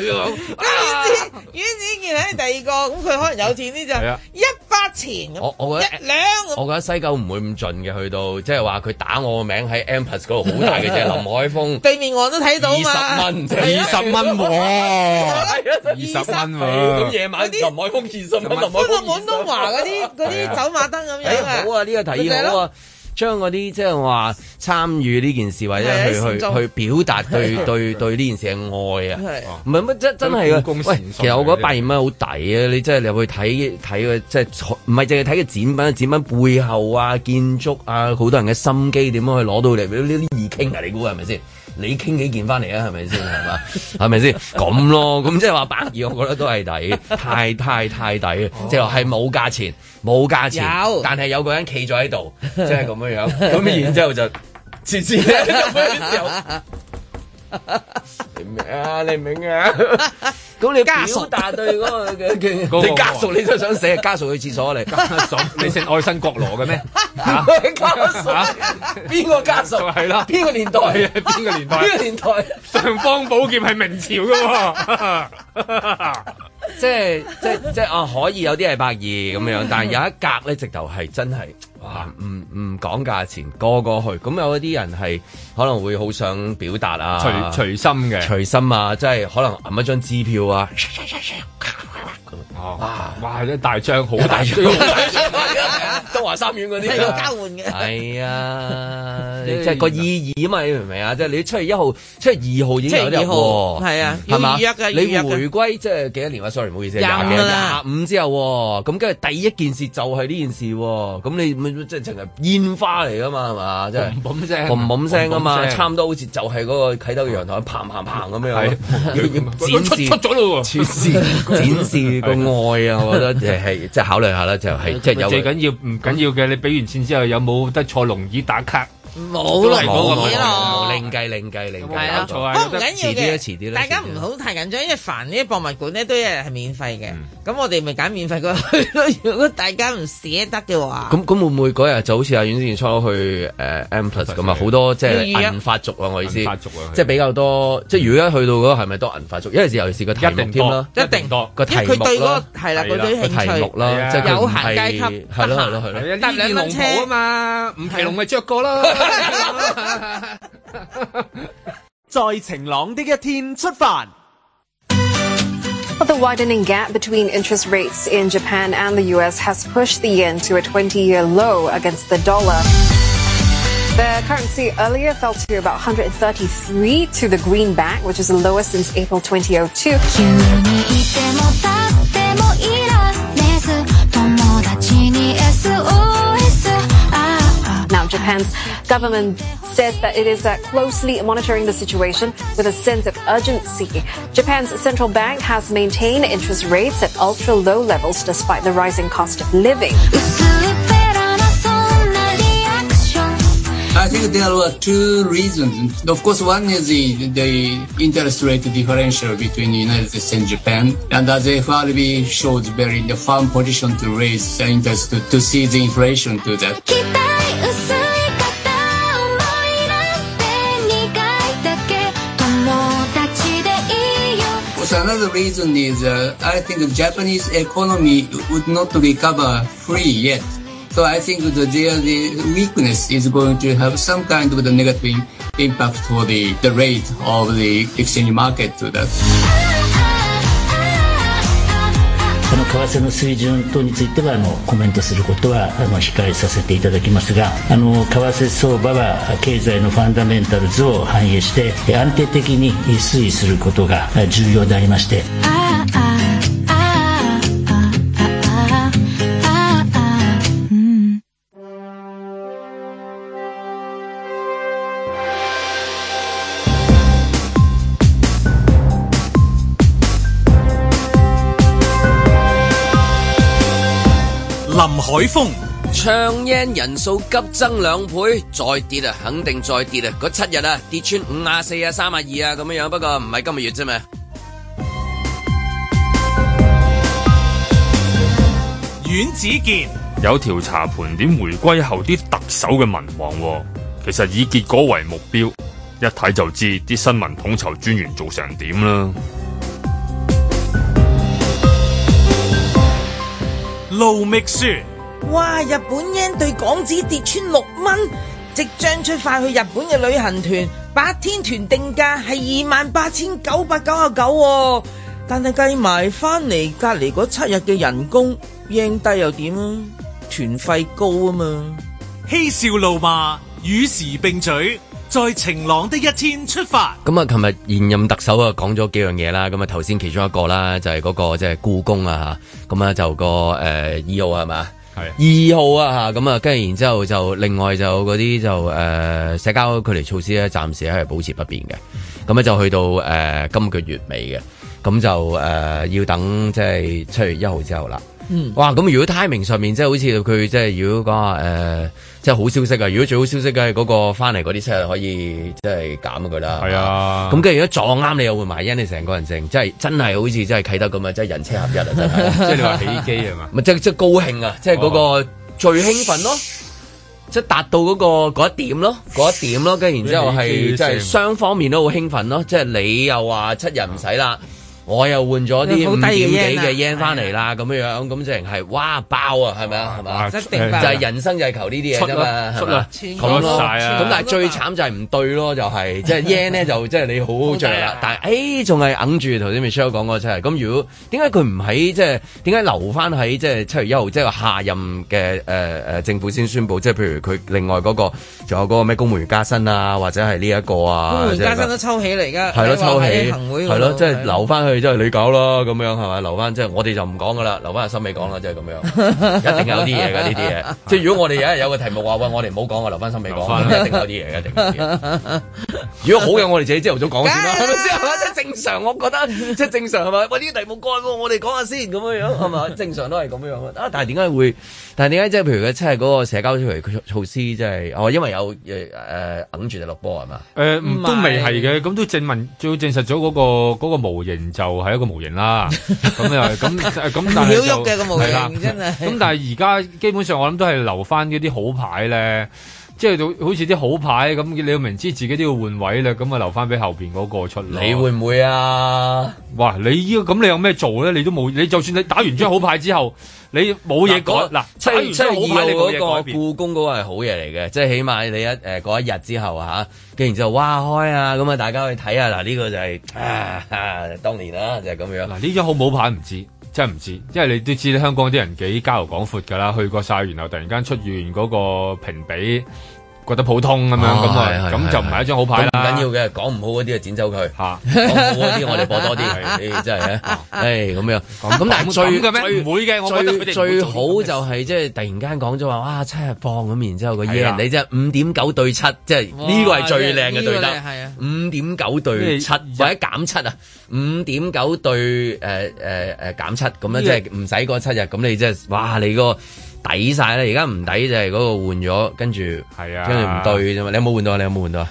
阮子健喺第二個，咁佢可能有錢啲就100錢， 我覺得1兩。我覺得西九唔會咁盡嘅，去到即係話佢打我個名喺 M+ 嗰度好大嘅啫，林海峰對面我都睇到嘛 ，20蚊喎，20蚊喎。 咁夜晚林海峰20蚊， 搬到廣東華嗰啲走馬燈咁樣啊！ 好啊，呢個提議好啊，將嗰啲即係話參與呢件事或者去表達對呢件事嘅愛啊！唔係乜真係啊！喂，其實我覺得120蚊好抵啊！你真係入去睇嘅，即係唔係淨係睇嘅展品背後啊、建築啊，好多人嘅心機點樣去攞到嚟？呢啲易傾啊！你估係咪先？你傾幾件翻嚟啊？係咪先？係嘛？係咪先？咁咯，咁即係話120，我覺得都係抵，太抵，即係係冇價錢，但係有個人企咗喺度，即係咁樣樣，咁然之後就次次咧咁樣時候，你明啊？你明啊？咁你表達對嗰個嘅你家屬，你都想寫家屬去廁所嚟？ 家屬，你姓愛新覺羅嘅咩？ 家屬邊個家屬？係啦，邊個年代？ 邊個年代？尚方寶劍係明朝嘅喎。 即係啊，可以有啲係120咁樣，但係有一格咧，直頭係真係哇，唔講價錢，個去。咁有一啲人係可能會好想表達啊， 隨心啊， 即係可能揞一張支票啊。 哇！一大張好大張， 東華三院嗰啲係要交換嘅。 係啊，即係個意義啊嘛，你明唔明啊？即係你7月1號、7月2號已經有得入喎。係啊，係嘛？你回歸即係幾多年啊？sorry，唔好意思，25之後喎。咁跟住第一件事就係呢件事喎。咁你即係淨係煙花嚟噶嘛？係嘛？即係嘣聲啊嘛！差唔多好似就係嗰個啟德嘅陽台砰砰砰咁樣，要展示出咗咯喎，展示個愛啊！我覺得係即係考慮下啦，就係即係有最緊要唔緊要嘅，你俾完錢之後有冇得坐龍椅打卡？ 冇咯， 另計， 係啊，不過唔緊要嘅，大家唔好太緊張，因為凡呢啲博物館咧都係免費嘅，咁我哋咪揀免費嗰去咯。如果大家唔捨得嘅話， 咁會唔會嗰日就好似阿阮之前初去M+ 咁啊？好多即係銀髮族啊！我意思，即係比較多，即係如果一去到嗰個係咪多銀髮族？因為尤其是個題目添啦， 一定多個題目啦， 係啦，嗰啲興趣啦，即係有閒階級， 係咯， 搭2蚊車啊嘛，吳奇隆咪着過啦。 在晴朗的一天出發。 The widening gap between interest rates in Japan and the US has pushed the yen to a 20-year low against the dollar. The currency earlier fell to about 133 to the greenback, which is the lowest since April 2002. Now, Japan's government says that it is closely monitoring the situation with a sense of urgency. Japan's central bank has maintained interest rates at ultra-low levels despite the rising cost of living. I think there are two reasons. Of course, one is the interest rate differential between the United States and Japan. And as FRB shows very firm position to raise the interest to see the inflation to that. course, another reason is I think the Japanese economy would not recover free yet. So I think the weakness is going to have some kind of the negative impact for the rate of the exchange market to that. 為替の水準等についてはコメントすることは控えさせていただきますが、為替相場は経済のファンダメンタルズを反映して安定的に推移することが重要でありまして。 林海峰， 唱 yen 人數急增2倍，再跌啊，肯定再跌啊！嗰7日啊，跌穿54啊、32啊咁樣，不過唔係今個月啫嘛。 阮子健有調查盤點回歸後啲特首嘅民望，其實以結果為目標，一睇就知啲新聞統籌專員做成點啦。 盧覓雪， 哇！日本 yen 對港紙跌穿6蚊，即將出發去日本嘅旅行團8天團定價係28,999，但係計埋翻嚟隔離嗰7日嘅人工 yen 低又點啊？團費高啊嘛！ 嬉笑怒罵與時並舉，在晴朗的一天出發。 咁啊，琴日現任特首啊講咗幾樣嘢啦。咁啊，頭先其中一個啦，就係嗰個即係故宮啊嚇。咁啊，就個2號係嘛？係2號啊嚇。咁啊，跟住然之後就另外就嗰啲就社交距離措施咧，暫時係保持不變嘅。咁咧就去到今個月尾嘅。咁就要等即係7月1號之後啦。哇！咁如果 timing 上面即係好似佢即係如果講話即係好消息啊！如果最好消息嘅係嗰個翻嚟嗰啲7日可以即係減佢啦。係啊！咁跟住如果撞啱你又會埋因你成個人靜，即係真係好似真係啟德咁啊！即係人車合一啊！真係， 即係你話起機係嘛？ 咪即係高興啊！即係嗰個最興奮咯，即係達到嗰一點咯，跟住然之後係即係雙方面都好興奮咯，即係你又話7日唔使啦。我又換咗啲5點幾嘅 yen 翻嚟啦，咁樣咁淨係哇爆啊，係咪啊？係嘛？就係人生就係求呢啲嘢啫嘛，係嘛？咁咯，咁但係最慘就係唔對咯，就係即係 yen 咧就即係你好好着啦，但係仲係揞住頭先 Michelle 講嗰7日。咁如果點解佢唔喺即係點解留翻喺即係7月1號即係下任嘅政府先宣佈？即係譬如佢另外嗰個仲有嗰個咩公務員加薪啊，或者係呢一個啊， 公務員加薪都抽起嚟㗎， 係咯抽起，係咯即係留翻去。即係你搞啦咁樣係咪？留翻即係我哋就唔講噶啦，留翻阿森美講啦，即係咁樣，一定有啲嘢㗎呢啲嘢。即係如果我哋有一日有個題目話喂，我哋唔好講啊，留翻森美講，一定有啲嘢，一定有啲嘢。如果好嘅，我哋自己朝頭早講先啦，係咪先？係咪即係正常？我覺得即係正常係咪？喂，呢啲題目幹喎，我哋講下先咁樣樣係咪？正常都係咁樣樣啊！但係點解會？但係點解即係譬如佢真係嗰個社交措施即係因為有揞住就落波係嘛？ 都未係嘅，咁都證實咗嗰個模型就係一個模型啦。咁又咁，但係就喐嘅個模型真係。咁但係而家基本上我諗都係留翻嗰啲好牌咧。即係好似啲好牌咁，你要明知自己都要換位咧，咁啊留翻俾後邊嗰個出嚟。 你會唔會啊？ 哇！你咁你有咩做咧？你都冇，你就算你打完張好牌之後，你冇嘢改。嗱，打完張好牌你冇嘢改變。 故宮嗰個係好嘢嚟嘅，即係起碼你嗰一日之後嚇，跟然之後哇開啊，咁啊大家去睇下嗱，呢個就係當年啦，就係咁樣。 嗱，呢張好冇牌唔知。真係唔知，因為你都知香港啲人幾交流廣闊㗎啦，去過晒，然後突然間出現嗰個評比，覺得普通咁樣，咁就唔係一張好牌啦。 唔緊要嘅，講唔好嗰啲就剪走佢，講好嗰啲我哋播多啲，真係咁樣。咁但係最唔會嘅，我覺得最好就係即係突然間講咗話，哇7日放咁，然之後個 yen 你即係5.9對7，即係呢個係最靚嘅對得，5.9對7或者減7啊，5.9對減7咁樣，即係唔使嗰7日，咁你即係哇你個。抵晒啦！而家唔抵就係嗰個換咗，跟住唔對啫嘛。你有冇換到啊？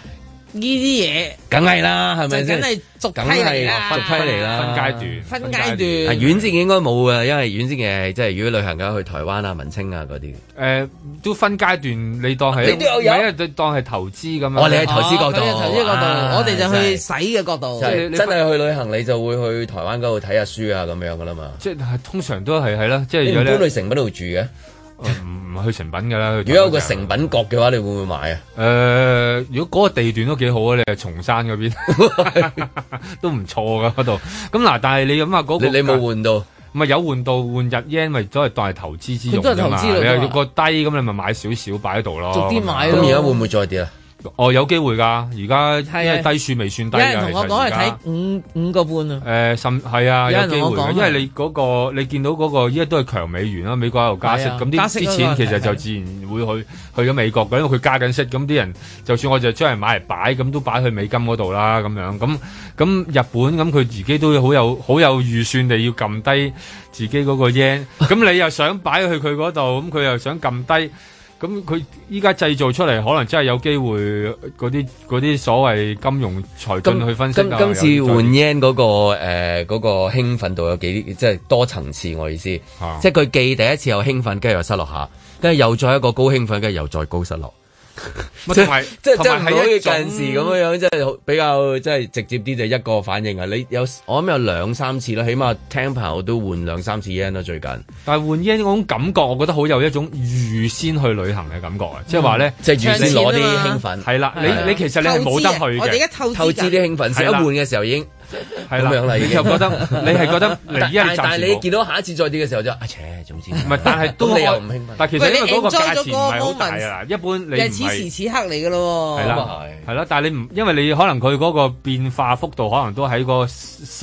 呢啲嘢， 梗係啦，係咪先？ 梗係逐批嚟啦， 逐批嚟啦， 分階段。 遠征應該冇嘅，因為遠征嘅即係如果旅行嘅去台灣啊、文青啊嗰啲。 都分階段，你當係你都有你當係投資咁樣。 我哋係投資角度， 我哋就去使嘅角度。 真係去旅行，你就會去台灣嗰度睇下書啊咁樣噶啦嘛。 即係通常都係啦，即係你唔搬去誠品度住嘅。 唔去誠品㗎啦。 如果有個誠品角嘅話，你會唔會買啊？ 如果嗰個地段都幾好啊，你係松山嗰邊都唔錯㗎嗰度。咁嗱，但係你諗下嗰個， 你冇換到？ 唔係有換到換日 yen，咪都係當係投資之用㗎嘛。你有個低咁，你咪買少少擺喺度咯。 逐啲買咯。 咁而家會唔會再跌啊？ 有機會㗎，而家因為低處未算低㗎。有人同我講係睇五個半啊。 係啊，有機會嘅，因為你嗰個你見到嗰個依家都係強美元啦，美國喺度加息，咁啲錢其實就自然會去咗美國嘅，因為佢加緊息，咁啲人就算我就將嚟買嚟擺，咁都擺去美金嗰度啦，咁樣咁日本咁佢自己都好有預算地要撳低自己嗰個 yen，咁你又想擺去佢嗰度，咁佢又想撳低。咁佢依家製造出嚟，可能真係有機會嗰啲所謂金融財經去分析。 今次換 yen 嗰個興奮度有幾即係多層次，我意思，即係佢既第一次又興奮，跟住又失落下，跟住又再一個高興奮，跟住又再高失落。即係唔可以近時咁樣，即係比較即係直接啲就一個反應啊！你我諗有2-3次啦，起碼聽朋友都換2-3次 yen 啦最近。 但係換 yen 嗰種感覺，我覺得好有一種預先去旅行嘅感覺啊！即係話咧， 即係預先攞啲興奮。係啦， 你其實你係冇得去嘅。 我哋而家透支啲興奮，一換嘅時候已經。係啦，你就覺得你係覺得但係你見到下一次再跌嘅時候就總之唔係，但係都你又唔興奮。 但係其實因為嗰個價錢唔係好大啊，一般你唔係此時此刻嚟嘅咯。 係啦，係啦，但係你唔因為你可能佢嗰個變化幅度可能都喺個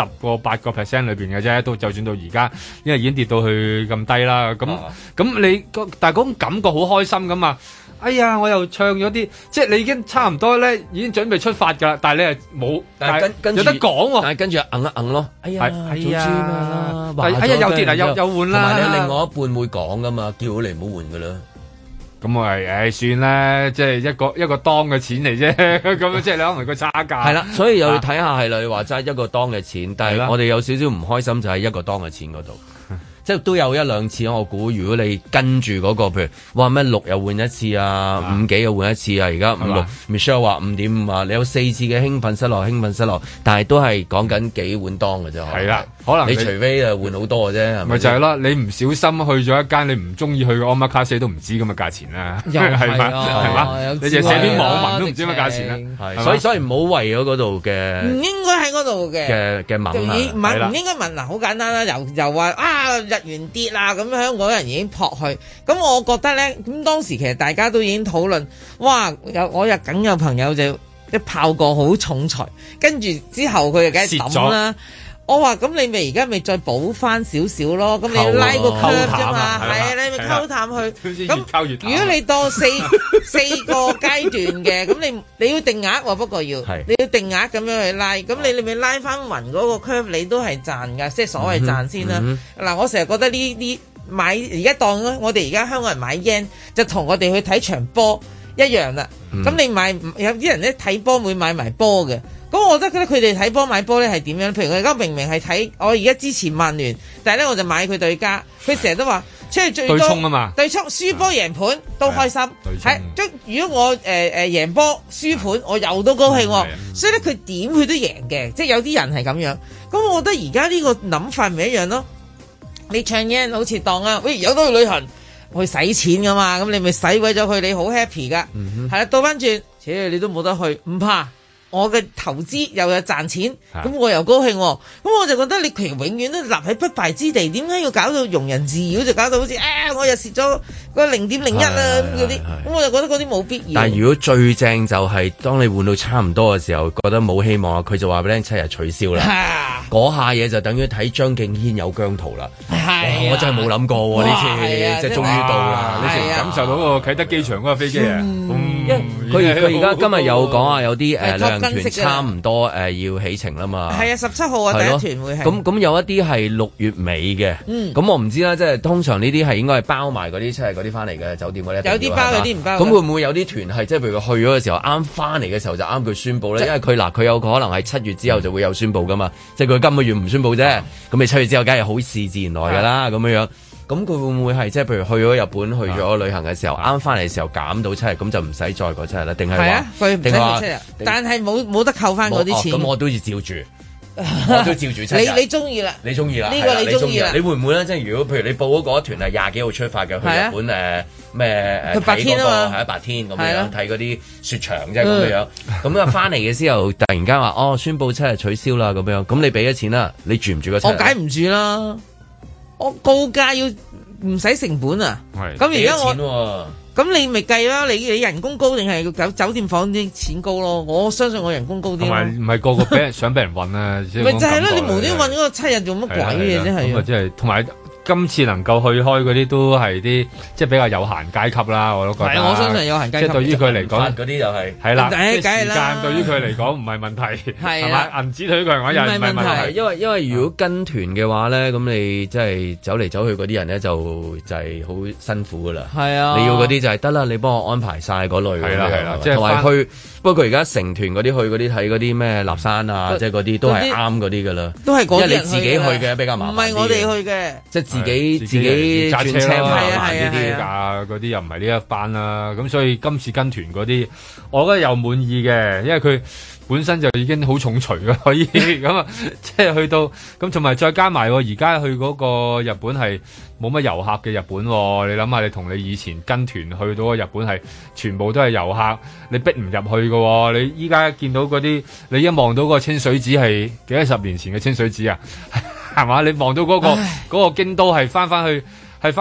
8% 裏邊嘅啫，都就算到而家，因為已經跌到去咁低啦。咁你但係嗰種感覺好開心咁啊！哎呀，我又唱咗啲，即係你已經差唔多咧，已經準備出發㗎啦，但係你係冇，但係有得講喎。 但係跟住硬一硬咯，哎呀， 又跌啦，又換啦。 同埋你另外一半會講㗎嘛，叫你唔好換㗎啦。 咁我係算啦，即係一個當嘅錢嚟啫，咁樣即係你可能個差價。 係啦，所以又要睇下係啦，你話齋一個當嘅錢，但係我哋有少少唔開心就係一個當嘅錢嗰度。即係都有1-2次，我估如果你跟住嗰個，譬如話咩6又換一次啊，5幾又換一次啊，而家5-6 Michelle 話5.5啊，你有4次嘅興奮失落，但係都係講緊幾碗當嘅啫。係啦，可能你除非誒換好多嘅啫，咪就係啦。你唔小心去咗一間你唔中意去嘅 Omakase 都唔知咁嘅價錢啦，係嘛？你就寫篇網文都唔知乜價錢啦。 所以唔好為咗嗰度嘅， 唔應該喺嗰度嘅問啊， 唔應該問嗱，好簡單啦，又話日元跌啦，咁香港人已經撲去，咁我覺得咧，咁當時其實大家都已經討論，哇！我梗有朋友就一炮過好重財，跟住之後佢就梗係抌啦。我話咁你咪而家咪再補翻少少咯，咁你拉個 curve 啫嘛，係啊，你咪溝淡去。咁如果你當四個階段嘅，咁你要定額喎，不過你要定額咁樣去拉，咁你咪拉翻勻嗰個 curve，你都係賺㗎，即係所謂賺先啦。嗱，我成日覺得呢買而家當我哋而家香港人買 yen 就同我哋去睇場波一樣啦。咁你買有啲人咧睇波會買埋波嘅。咁我覺得佢哋睇波買波咧係點樣？譬如佢而家明明係睇我而家支持曼聯，但係咧我就買佢對家。佢成日都話出去最多對沖啊嘛，對沖輸波贏盤都開心。係即如果我贏波輸盤，我又都高興。所以咧佢點佢都贏嘅，即係有啲人係咁樣。咁我覺得而家呢個諗法咪一樣咯。你唱 yen 好似當啊，喂有得去旅行去使錢噶嘛，咁你咪使鬼咗佢，你好 happy 噶。係啦，倒翻轉，你都冇得去，唔怕。我嘅投資又有賺錢，咁我又高興，咁我就覺得你其實永遠都立喺不敗之地，點解要搞到庸人自擾，就搞到好似我又蝕咗個0.01啊嗰啲，咁我就覺得嗰啲冇必要。 但係如果最正就係當你換到差唔多嘅時候，覺得冇希望啦，佢就話俾你聽7日取消啦，嗰下嘢就等於睇張敬軒有姜濤啦。我真係冇諗過呢次，即係終於到啦，你成感受到個啟德機場嗰個飛機啊！ 佢而家今日有講啊，有啲旅行團差唔多要起程啦嘛。 係啊，17號啊，第一團會係。 咁有一啲係6月尾嘅。咁我唔知啦，即係通常呢啲係應該係包埋嗰啲即係嗰啲翻嚟嘅酒店嗰啲。 有啲包，有啲唔包。 咁會唔會有啲團係即係譬如佢去咗嘅時候，啱翻嚟嘅時候就啱佢宣佈咧？因為佢有可能係7月之後就會有宣佈噶嘛，即係佢今個月唔宣佈啫。咁你7月之後梗係好事自然來㗎啦，咁樣樣。咁佢會唔會係即係譬如去咗日本去咗旅行嘅時候，啱翻嚟嘅時候減到7日，咁就唔使再過7日咧？定係話？ 定係話7日？但係冇得扣翻嗰啲錢。 咁我都要照住，我都照住7日。 你中意啦？ 你中意啦？ 呢個你中意啦？ 你會唔會咧？即係如果譬如你報嗰團係20幾號出發嘅，去日本咩去8天啊嘛， 係8天咁樣睇嗰啲雪場即係咁樣。咁啊翻嚟嘅時候，突然間話宣佈7日取消啦咁樣，咁你俾咗錢啦，你住唔住個7日？ 我梗唔住啦。我告價要唔使成本啊！咁而家咁你咪計啦，你人工高定係酒店房啲錢高咯？我相信我人工高啲。同埋唔係個個想俾人運啊！ 咪就係咯，你無端運嗰個7日做乜鬼嘢啫？係咁啊，即係同埋。今次能夠去開嗰啲都係啲即係比較有閒階級啦，我都覺得。 係，我相信有閒階級。 即係對於佢嚟講， 嗰啲就係係啦， 時間對於佢嚟講唔係問題，係嘛？銀紙對於佢嚟講又唔係問題。 因為如果跟團嘅話咧，咁你即係走嚟走去嗰啲人咧就係好辛苦噶啦。係啊，你要嗰啲就係得啦，你幫我安排晒嗰類。係啦，即係同埋去。不過佢而家成團嗰啲去嗰啲睇嗰啲咩立山啊，即係嗰啲都係啱嗰啲噶啦。都係嗰啲人去嘅。因為你自己去嘅比較麻煩。唔係我哋去嘅，即係自己揸車啦， 呢啲㗎，嗰啲又唔係呢一班啦。咁所以今次跟團嗰啲，我覺得又滿意嘅，因為佢本身就已經好重錘㗎，可以咁啊，即係去到咁，同埋再加埋而家去嗰個日本係冇乜遊客嘅日本，你諗下，你同你以前跟團去到個日本係全部都係遊客，你逼唔入去嘅，你依家見到嗰啲，你一望到個清水寺係幾多十年前嘅清水寺啊，係嘛？你望到嗰個京都係翻翻去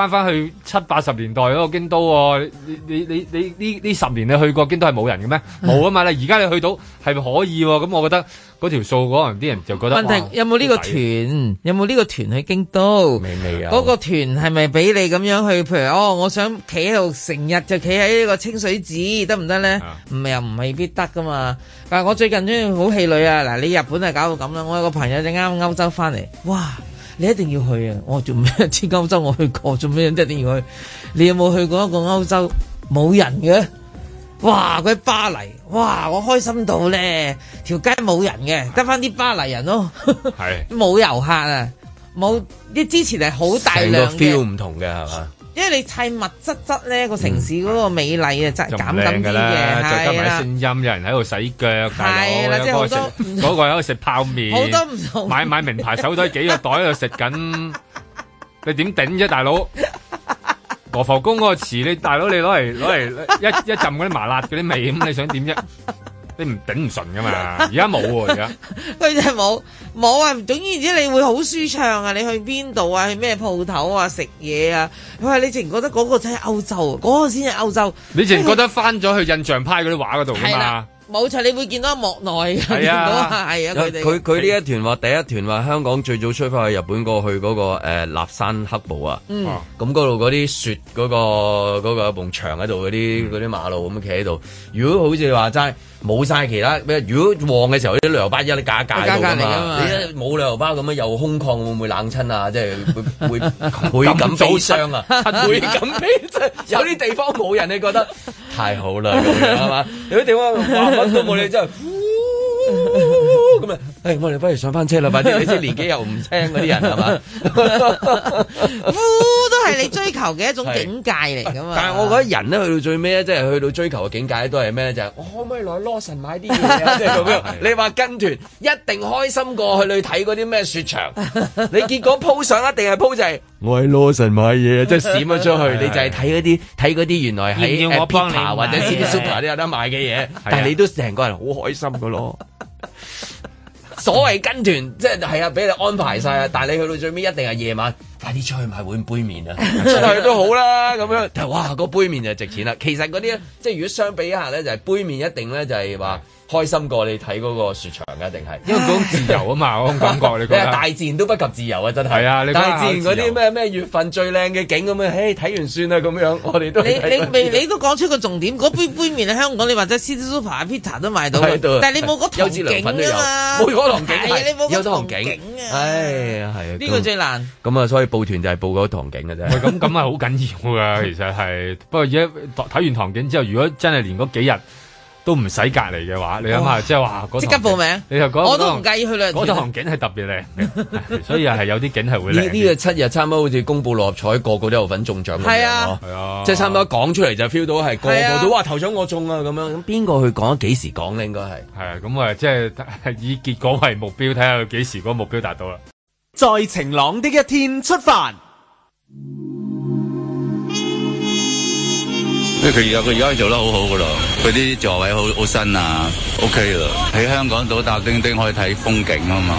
7、80年代嗰個京都喎，你呢10年你去過京都係冇人嘅咩？冇啊嘛，而家你去到係咪可以喎？咁我覺得嗰條數可能啲人就覺得問題有冇呢個團？有冇呢個團去京都？ 未有。嗰個團係咪俾你咁樣去？譬如我想企喺度成日就企喺呢個清水寺得唔得咧？又唔未必得噶嘛。但係我最近真係好氣餒啊！嗱，你日本係搞到咁啦，我有個朋友就啱歐洲翻嚟，哇！你一定要去啊！我做咩？知歐洲我去過，做咩一定要去？你有冇去過一個歐洲冇人嘅？哇！佢喺巴黎，哇！我開心到咧，條街冇人嘅，得翻啲巴黎人咯，係冇遊客啊，冇啲之前係好大量嘅 feel 唔同嘅係嘛？ 因為你砌密質質咧，個城市嗰個美麗啊，真係減緊啲嘅， 再加埋聲音，有人喺度洗腳， 係啦，即係好多嗰個喺度食泡麵， 好多唔同， 買名牌手袋，幾個袋喺度食緊，你點頂啫，大佬？羅浮宮嗰個池，你大佬你攞嚟一浸嗰啲麻辣嗰啲味，咁你想點啫？你唔頂唔順噶嘛？而家冇喎，而家佢真係冇啊！總言之，你會好舒暢啊！你去邊度啊？去咩鋪頭啊？食嘢啊？佢話你淨覺得嗰個真係歐洲，嗰個先係歐洲。 你淨覺得翻咗去印象派嗰啲畫嗰度噶嘛？ 冇錯，你會見到莫內嘅，見到係啊！ 佢呢一團話第一團話香港最早出發去日本過去嗰個立山黑部啊，咁嗰度嗰啲雪嗰個埲牆喺度嗰啲馬路咁企喺度。如果好似話齋冇晒其他咩，如果旺嘅時候啲旅遊巴一啲架喺度㗎嘛，你冇旅遊巴咁樣又空曠，會唔會冷親啊？即係會倍感悲傷啊！倍感悲傷，有啲地方冇人，你覺得太好啦咁樣係嘛？有啲地方揾都冇你真係，咁啊！我哋不如上翻車啦，快啲！你知年紀又唔輕嗰啲人係嘛？ 都係你追求嘅一種境界嚟㗎嘛。 但係我覺得人咧去到最尾咧，即係去到追求嘅境界都係咩？就係我可唔可以來羅神買啲嘢啊？即係咁樣。你話跟團一定開心過去睇嗰啲咩雪場，你結果鋪上一定係鋪就係我喺羅神買嘢，即係閃咗出去，你就係睇嗰啲原來喺Pita或者 City Super 都有得買嘅嘢，但係你都成個人好開心㗎咯。所謂跟團，即係啊，俾你安排晒啊！但係你去到最尾一定係夜晚，快啲出去買碗杯麵啊！出去都好啦，咁樣。哇，個杯麵就值錢啦。其實嗰啲咧，即係如果相比一下咧，就係杯麵一定咧就係話開心過你睇嗰個雪場嘅，定係？ 因為嗰種自由啊嘛，嗰種感覺你覺得？ 大自然都不及自由啊，真係。 係啊，你大自然嗰啲咩月份最靚嘅景咁樣，睇完算啦咁樣，我哋都你都講出個重點，嗰杯麵喺香港，你或者 City Super、Pita 都買到，但係你冇嗰糖景啊嘛， 冇嗰糖景， 你冇嗰糖景啊，唉，係啊， 呢個最難。 咁啊，所以報團就係報嗰糖景嘅啫。 咁係好緊要噶，其實係。不過而家睇完糖景之後，如果真係連嗰幾日都唔使隔離嘅話，你諗下，即係話即刻報名。 你就我都唔介意去兩。 嗰堂景係特別靚嘅，所以係有啲景係會靚。 呢個7日差唔多好似公佈六合彩，個個都有份中獎咁樣咯。係啊，即係差唔多講出嚟就 feel 到係個個都話頭獎我中啊咁樣。咁邊個去講？幾時講咧？應該係啊，咁啊，即係以結果為目標，睇下佢幾時嗰個目標達到啦。 在晴朗的一天出發。 因為佢而家做得好好噶咯，佢啲座位好新啊 ，OK 啦。喺香港島搭叮叮可以睇風景啊嘛。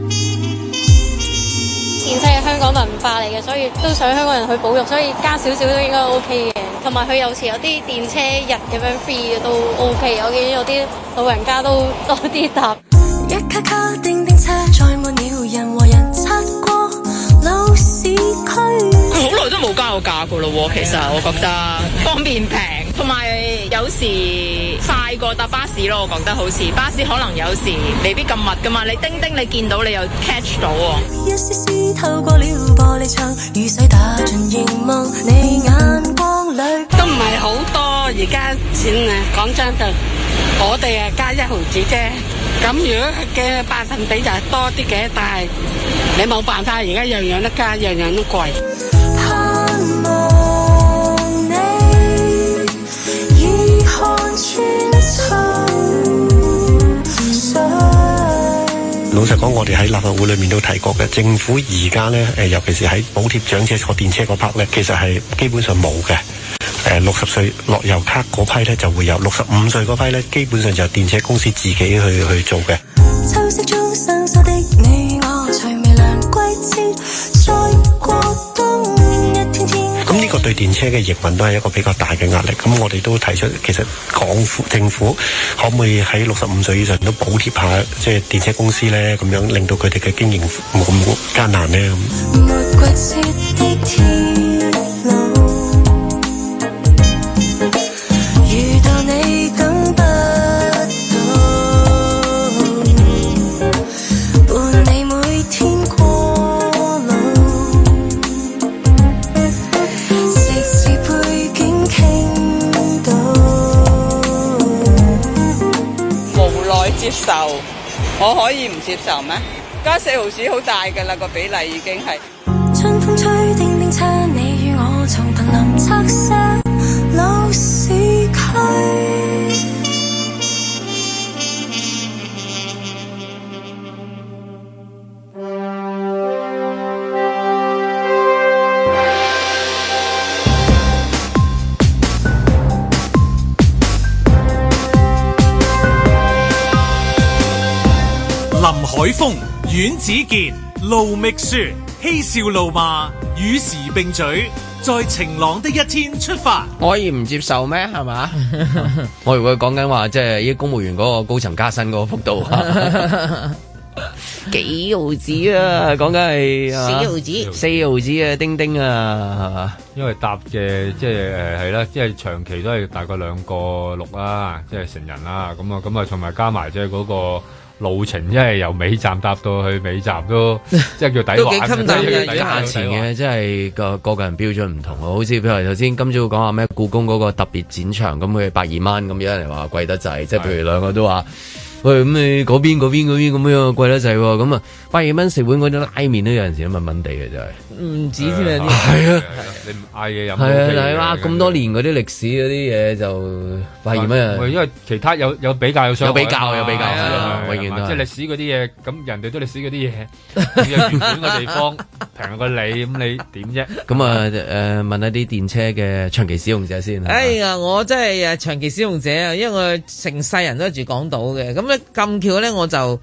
電車係香港文化嚟嘅，所以都想香港人去保育，所以加少少都應該 OK 嘅。同埋佢有時有啲電車日咁樣 free 嘅都 OK， 我見有啲老人家都多啲搭。一卡卡叮叮車載滿了人和人擦過老市區。 好耐都冇加過價噶咯喎，其實我覺得方便平，同埋有時快過搭巴士咯，我覺得好似巴士可能有時未必咁密噶嘛，你叮叮你見到你又 catch 到喎。一絲絲透過了玻璃窗，雨水打進熒幕，你眼光裏都唔係好多，而家錢啊講真就我哋啊加1毫子啫。咁如果嘅百分比就係多啲嘅，但係你冇辦法，而家樣樣都加，樣樣都貴。盼望你已看穿老實講，我哋喺立法會裏面都提過嘅，政府而家咧尤其是喺補貼長者坐電車嗰 part 咧，其實係基本上冇嘅。60歲樂悠卡嗰批咧就會有，65歲嗰批咧基本上就電車公司自己去做嘅。咁呢個對電車嘅營運都係一個比較大嘅壓力。咁我哋都提出，其實政府可唔可以喺65歲以上都補貼下即係電車公司咧，咁樣令到佢哋嘅經營冇咁艱難咧。 接受，我可以唔接受咩？加4毫子好大㗎啦，個比例已經係。春風吹叮叮車，你與我從瀕臨拆卸老市區。 林海峰、阮子健、盧覓雪，嬉笑怒罵，與時並舉，在晴朗的一天出發。 我可以唔接受咩？係嘛？我以為講緊話，即係啲公務員嗰個高層加薪嗰個幅度，幾毫子啊？講緊係4毫子啊！叮叮啊，係嘛？ 因為搭嘅即係係啦，即係長期都係大概2個6啦，即係成人啦，咁啊，同埋加埋即係嗰個路程，因為由尾站搭到去尾站都即係叫抵玩嘅， 價錢嘅，即係個人標準唔同啊！好似譬如頭先今朝講話咩故宮嗰個特別展場，咁佢120蚊，咁有人話貴得滯，即係譬如兩個都話。喂，咁你嗰邊咁樣貴得滯喎，咁啊120蚊食碗嗰啲拉麵都有陣時都蚊地嘅真係， 唔止添啊！ 係啊， 你唔嗌嘢飲係啊，咁多年嗰啲歷史嗰啲嘢就120蚊啊！ 因為其他有比較有相比， 有比較，永遠都即係歷史嗰啲嘢，咁人哋都歷史嗰啲嘢，原本個地方平過你，咁你點啫？ 咁啊問一啲電車嘅長期使用者先。 哎呀，我真係長期使用者啊，因為我成世人都係住港島嘅，咁咧咁巧咧我就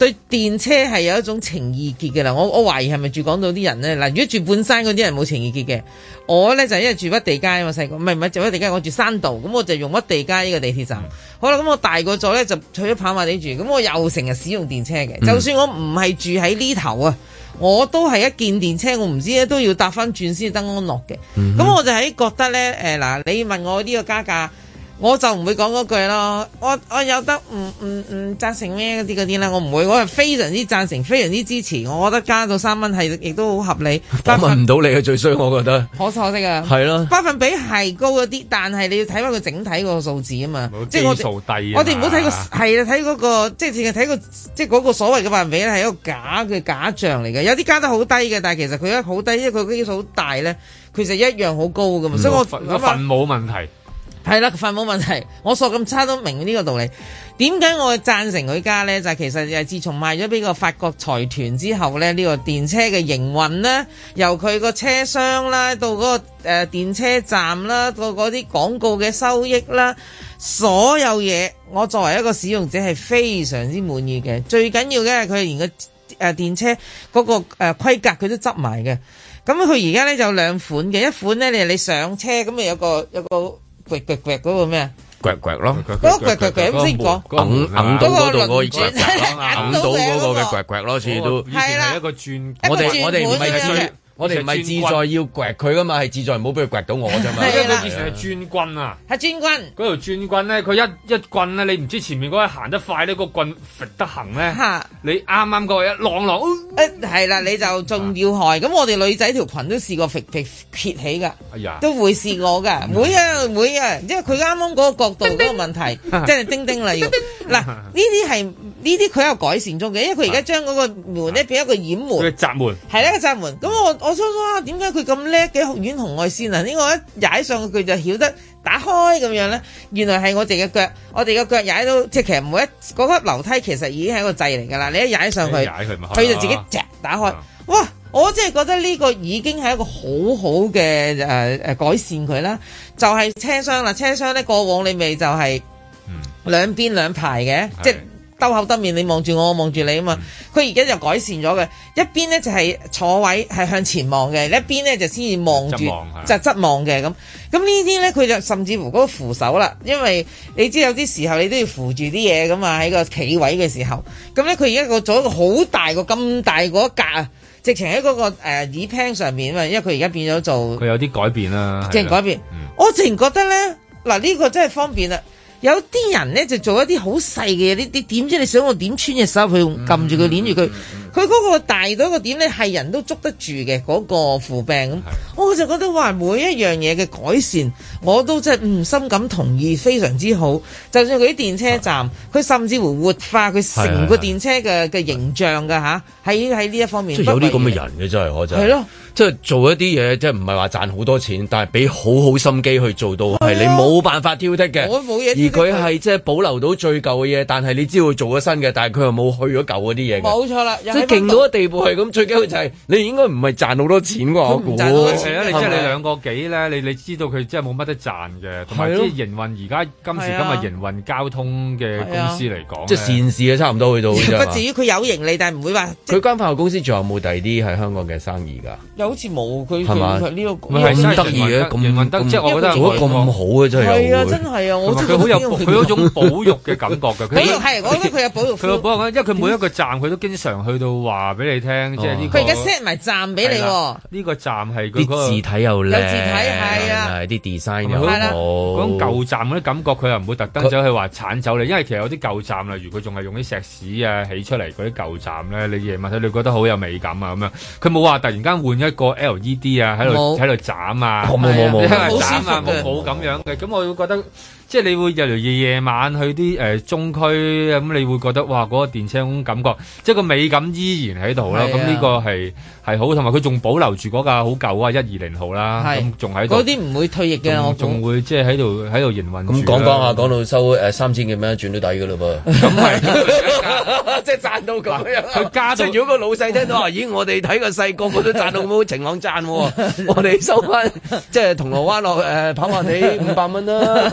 對電車係有一種情意結嘅啦。我懷疑係咪住港島啲人咧？嗱，如果住半山嗰啲人冇情意結嘅，我咧就因為住屈地街啊嘛，細個唔係住屈地街，我住山道，咁我就用屈地街呢個地鐵站。好啦，咁我大個咗咧就去咗跑馬地住，咁我又成日使用電車嘅。就算我唔係住喺呢頭啊，我都係一見電車，我唔知咧都要搭翻轉先得安樂嘅。咁我就喺覺得咧，嗱，你問我呢個加價，我就唔會講嗰句咯。我有得唔贊成咩嗰啲啦，我唔會。我係非常之贊成，非常之支持。我覺得加到3蚊係亦都好合理。 訪問唔到你嘅最衰，我覺得可惜啊。係咯，百分比係高一啲，但係你要睇翻佢整體個數字啊嘛。即係我哋唔好睇個係啦，睇嗰個即係淨係睇個即係嗰個所謂嘅百分比咧，係一個假象嚟嘅。有啲加得好低嘅，但係其實佢一好低，因為佢基數好大咧，其實一樣好高噶嘛。所以我份冇問題。 係啦，份冇問題，我索咁差都明呢個道理。點解我贊成佢加呢？就係其實自從賣咗俾個法國財團之後呢，呢個電車嘅營運呢，由佢個車廂啦，到嗰個電車站啦，到嗰啲廣告嘅收益啦，所有嘢，我作為一個使用者係非常之滿意嘅。最緊要嘅係佢連個電車嗰個規格佢都執埋嘅。咁佢而家呢就有兩款嘅，一款呢你上車咁咪有個掘嗰個咩啊？ 掘咯， 嗰個掘咁先講， 硬到嗰度嗰個掘咯，硬到嗰個嘅掘咯，似都係一個轉。 我哋唔係志在要掘佢噶嘛，係志在唔好俾佢掘到我啫嘛。 因為佢以前係專軍啊， 係專軍嗰條專軍咧，佢一棍咧，你唔知前面嗰個行得快呢個棍揈得行咧，你啱啱嗰個一浪， 係啦，你就仲要害。咁我哋女仔條裙都試過撇起㗎， 哎呀， 都會試過㗎，會啊，因為佢啱啱嗰個角度嗰個問題，即係叮叮啦要。嗱，呢啲佢有改善中嘅，因為佢而家將嗰個門咧變一個掩門， 佢閘門係一個閘門。咁我初初點解佢咁叻嘅遠紅外線啊？呢個一踩上去佢就曉得打開咁樣咧。原來係我哋嘅腳，我哋嘅腳踩到，即係其實每一嗰級樓梯其實已經係一個掣嚟㗎啦。你一踩上去，佢就自己打開。哇！我真係覺得呢個已經係一個好好嘅改善佢啦。就係車廂啦，車廂咧過往你咪就係兩邊兩排嘅，即係兜口兜面，你望住我望住你啊嘛。佢而家就改善咗嘅，一邊咧就係坐位係向前望嘅，一邊咧就先至望住就側望嘅咁。咁呢啲咧佢就甚至乎嗰個扶手啦，因為你知有啲時候你都要扶住啲嘢噶嘛，喺個企位嘅時候。咁咧佢而家做一個好大個咁大嗰格啊，直情喺嗰個耳 pan 上面啊嘛，因為佢而家變咗做佢有啲改變啦， 即係改變。我直情覺得咧嗱呢個真係方便啦。有啲人咧就做一啲好細嘅嘢，你點知你想我點穿隻手去撳住佢捏住佢？佢嗰個大到一個點咧，係人都捉得住嘅嗰個扶柄咁。我就覺得話每一樣嘢嘅改善，我都真係深感同意，非常之好。就算佢啲電車站，佢甚至乎活化佢成個電車嘅形象㗎吓，喺呢一方面。 即係有啲咁嘅人嘅真係，我真係。係咯。即係做一啲嘢，即係唔係話賺好多錢，但係俾好好心機去做到，係你冇辦法挑剔嘅。 我冇嘢。 而佢係即係保留到最舊嘅嘢，但係你知道做咗新嘅，但係佢又冇去咗舊嗰啲嘢嘅。 冇錯啦， 即係勁到嘅地步係咁，最緊要就係你應該唔係賺好多錢喎。我估係啊，你即係你兩個幾咧，你知道佢真係冇乜得賺嘅，同埋即係營運而家今時今日營運交通嘅公司嚟講， 即係善事啊，差唔多去到。 不至於佢有盈利，但係唔會話。 佢間化學公司仲有冇第二啲喺香港嘅生意㗎？ 又好似冇佢。 係嘛？ 呢個咁得意嘅，咁即係我覺得做得咁好嘅真係。 係啊，真係啊！我佢好有佢嗰種保育嘅感覺嘅。 保育係，我覺得佢有保育。 佢有保育，因為佢每一個站佢都經常去到話俾你聽，即係呢個。 佢而家 set 埋站俾你喎。 呢個站係啲字體又靚， 有字體係啊， 啲 design 又好。 嗰種舊站嗰啲感覺，佢又唔會特登走去話剷走你，因為其實有啲舊站例如佢仲係用啲石屎啊起出嚟嗰啲舊站咧，你夜晚睇你覺得好有美感啊咁樣。佢冇話突然間換一個 LED 啊喺度斬啊， 冇斬啊，冇咁樣嘅，咁我會覺得。即係你會日嚟夜晚去啲中區咁，你會覺得哇嗰個電車嗰種感覺，即係個美感依然喺度啦。咁呢個係好，同埋佢仲保留住嗰架好舊啊120號啦，咁仲喺度。 嗰啲唔會退役嘅，我仲會即係喺度營運。 咁講下，講到收3000幾蚊轉都抵㗎嘞噃。 咁係， 即係賺到咁樣。 佢加到， 如果個老細聽到話，咦我哋睇個細個個都賺到冇晴朗賺喎，我哋收翻即係銅鑼灣落跑馬地500蚊啦。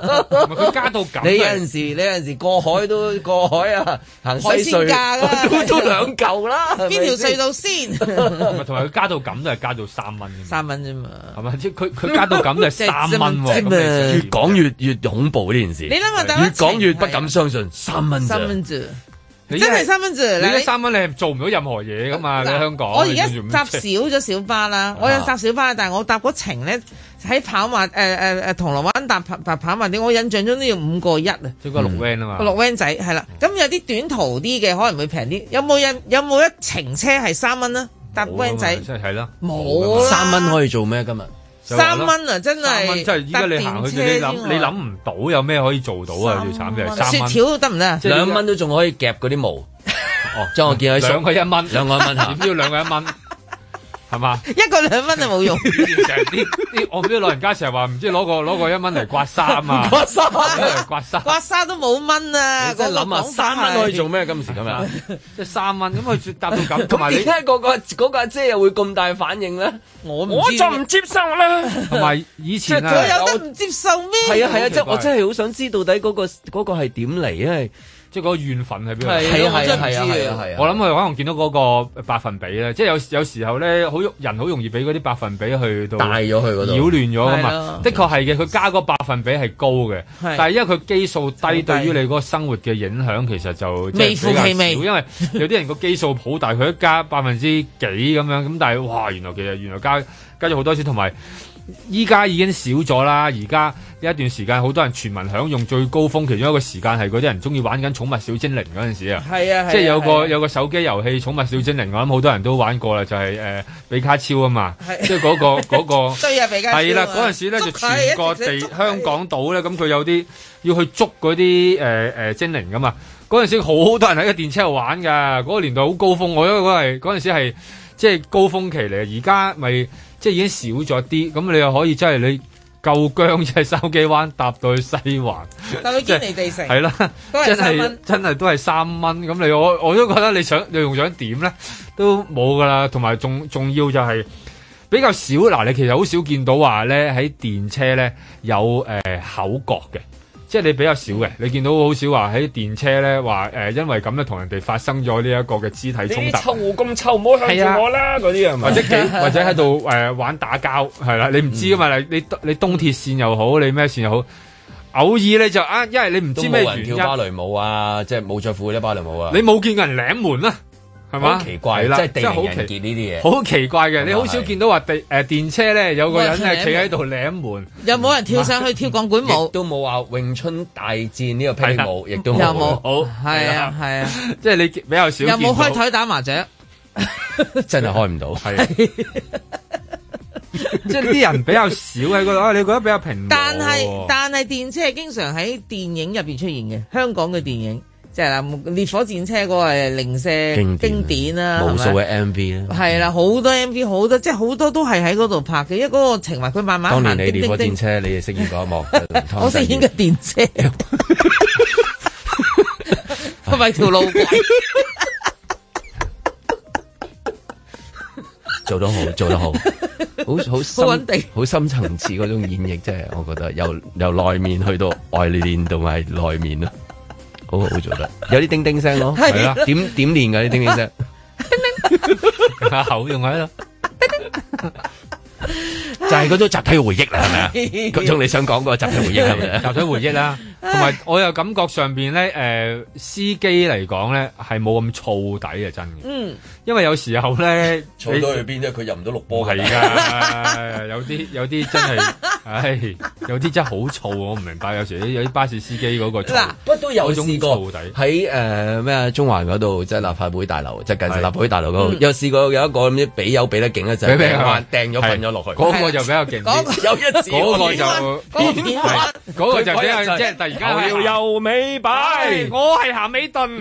佢加到咁。 你有陣時過海都過海啊，行西隧都2嚿啦。 邊條隧道先？ 同埋佢加到咁都係加到3蚊 ，3蚊啫嘛。 係咪？即係佢加到咁都係3蚊喎。 越講越恐怖呢件事。 你諗下， 越講越不敢相信，3蚊啫。 真係3蚊啫！ 你3蚊你係做唔到任何嘢噶嘛？你喺香港。 我而家搭少咗小巴啦，我有搭小巴，但係我搭嗰程咧喺跑馬銅鑼灣搭跑馬點，我印象中都要5個1啊。 即係個綠 van 啊嘛。 個綠 van 仔係啦，咁有啲短途啲嘅可能會平啲。有冇一程車係3蚊啊？搭 van 仔即係啦， 冇啦。 3蚊可以做咩今日？ 3蚊啊，真係！ 即係依家你行去，你諗唔到有咩可以做到啊？最慘嘅係3蚊。 雪條得唔得啊 ？2蚊都仲可以夾嗰啲毛。哦，將我見喺 2個1蚊 ，2個1蚊嚇， 點都要2個1蚊，係嘛 ？1個2蚊就冇用。 成日啲我唔知老人家成日話唔知攞個1蚊嚟刮衫啊， 刮衫都冇蚊啊！ 即係諗下3蚊可以做咩？今時今日即係3蚊，咁佢搭到咁，同埋你點解嗰個阿姐又會咁大反應咧？ 我就唔接受啦。 同埋以前啊， 佢有得唔接受咩？ 係啊，即係我真係好想知到底嗰個係點嚟，因為。 即係嗰個怨憤喺邊度？ 係我諗佢可能見到嗰個百分比咧，即係有時候咧，人好容易俾嗰啲百分比去到帶咗去嗰度， 擾亂咗噶嘛。的確係嘅，佢加個百分比係高嘅，但係因為佢基數低，對於你嗰個生活嘅影響其實就微乎其微。 因為有啲人個基數好大，佢一加幾%咁樣，咁但係哇，原來加咗好多次，同埋。依家已經少咗啦，而家有一段時間好多人全民享用最高峰，其中一個時間係嗰啲人中意玩緊寵物小精靈嗰陣時啊，即係有個手機遊戲寵物小精靈，我諗好多人都玩過啦，就係比卡超啊嘛，即係嗰個對啊，比卡超係啦，嗰陣時咧就全個香港島咧，咁佢有啲要去捉嗰啲精靈噶嘛，嗰陣時好多人喺個電車度玩㗎，嗰個年代好高峰，我因為嗰陣時係即係高峰期嚟，而家咪。即係已經少咗啲，咁你又可以真係你夠薑，即係筲箕灣搭到去西環， 搭到堅尼地城， 係啦，真係都係3蚊。咁我都覺得你用咗點咧，都冇噶啦。同埋仲要就係比較少嗱，你其實好少見到話咧喺電車咧有口角嘅。即係你比較少嘅，你見到好少話喺電車咧話因為咁咧同人哋發生咗呢一個嘅肢體衝突。臭咁臭，唔好向住我啦！嗰啲係咪？或者喺度玩打交係啦，你唔知噶嘛？你東鐵線又好，你咩線又好，偶爾你就因為你唔知咩原因。 跳芭蕾舞啊，即係冇着褲啲芭蕾舞啊。 你冇見過人舐門啦。係嘛？ 奇怪啦，即係地靈人傑呢啲嘢， 好奇怪嘅。你好少見到話電車咧有個人係企喺度舐門， 有冇人跳上去跳鋼管舞？ 都冇話詠春大戰呢個霹靂舞，亦都冇。 好係啊， 即係你比較少。 有冇開台打麻雀？ 真係開唔到。係， 即係啲人比較少喺嗰度。你覺得比較平？ 但係電車係經常喺電影入邊出現嘅，香港嘅電影。即係啦，烈火戰車嗰個係零舍經典啦， 無數嘅 MV 啦， 係啦，好多 MV， 好多即係好多都係喺嗰度拍嘅，因為嗰個情懷佢慢慢。 當年你烈火戰車，你哋飾演嗰一幕， 我飾演嘅電車，係咪條路軌？ 做得好，做得好，好穩定， 好深層次嗰種演繹，即係我覺得由內面去到外面同埋內面咯。好做得，有啲叮叮聲咯，係啦，點練㗎啲叮叮聲？ 口用喺度， 就係嗰種集體回憶啦，係咪啊？嗰種你想講嗰個集體回憶係咪？ 集體回憶啦，同埋我又感覺上邊咧，司機嚟講咧係冇咁燥底啊，真嘅。因為有時候咧， 燥到去邊啫？佢入唔到綠波係㗎，有啲真係，唉，有啲真係好燥，我唔明白。有時有啲巴士司機嗰個嗱， 不過都有試過喺咩中環嗰度，即係立法會大樓，即係近住立法會大樓嗰度，有試過有一個咁啲俾油俾得勁咧，就掟咗瞓咗落去。 嗰個就比較勁啲， 有一次嗰個就嗰個就比較即係突然間頭搖尾擺， 我係鹹美頓。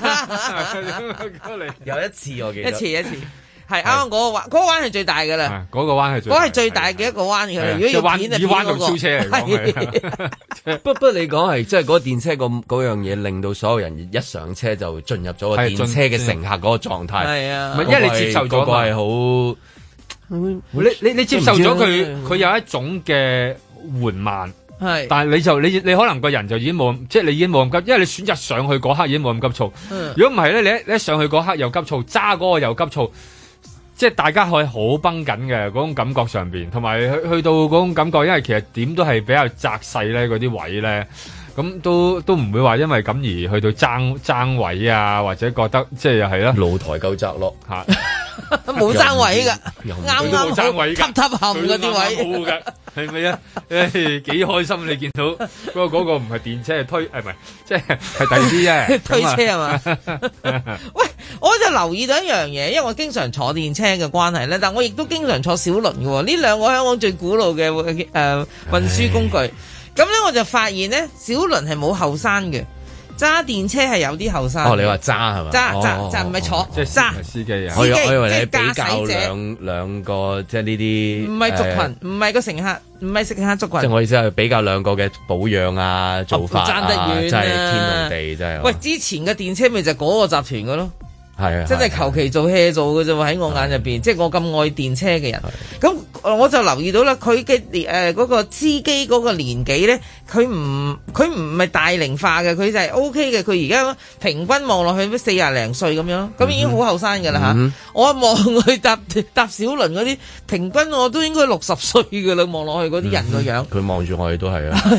有一次我記得一次係啱啱嗰個彎係最大㗎啦， 嗰個彎係嗰係最大嘅一個彎㗎啦。如果要片以彎道超車嚟講， 不過你講係即係嗰個電車嗰樣嘢，令到所有人一上車就進入咗個電車嘅乘客嗰個狀態。 係啊， 因為你接受咗個係好， 你接受咗佢有一種嘅緩慢。 係，但係你可能個人就已經冇，即係你已經冇咁急，因為你選擇上去嗰刻已經冇咁急躁。如果唔係咧，你一上去嗰刻又急躁，揸嗰個又急躁，即係大家可以好繃緊嘅嗰種感覺上邊，同埋去到嗰種感覺，因為其實點都係比較窄細咧，嗰啲位咧。咁都唔會話因為咁而去到爭位啊，或者覺得即係又係啦， 露台夠窄咯嚇， 冇爭位㗎，啱啱爭位㗎， 凹陷嗰啲位， 好嘅，係咪啊？幾開心你見到嗰個唔係電車係推，唔係即係第二啲啫， 推車係嘛？喂，我就留意到一樣嘢，因為我經常坐電車嘅關係咧，但我亦都經常坐小輪嘅喎，呢兩個香港最古老嘅運輸工具。咁咧我就發現咧，小輪係冇後生嘅，揸電車係有啲後生。 哦，你話揸係嘛？ 揸唔係坐， 即係揸司機啊！ 我以為你比較兩個即係呢啲， 唔係族群，唔係個乘客，唔係乘客族群。 即係我意思係比較兩個嘅保養啊、做法爭得遠真係天同地真係。 喂，之前嘅電車咪就係嗰個集團嘅咯。 係啊， 真係求其做 hea 做嘅啫喎！喺我眼入邊，即係我咁愛電車嘅人，咁我就留意到啦。佢嘅嗰個司機嗰個年紀咧，佢唔係大齡化嘅，佢就係 O K 嘅。佢而家平均望落去都40零歲咁樣，咁已經好後生㗎啦嚇。我一望佢搭小輪嗰啲，平均我都應該60歲㗎啦。望落去嗰啲人個樣， 佢望住我哋都係啊，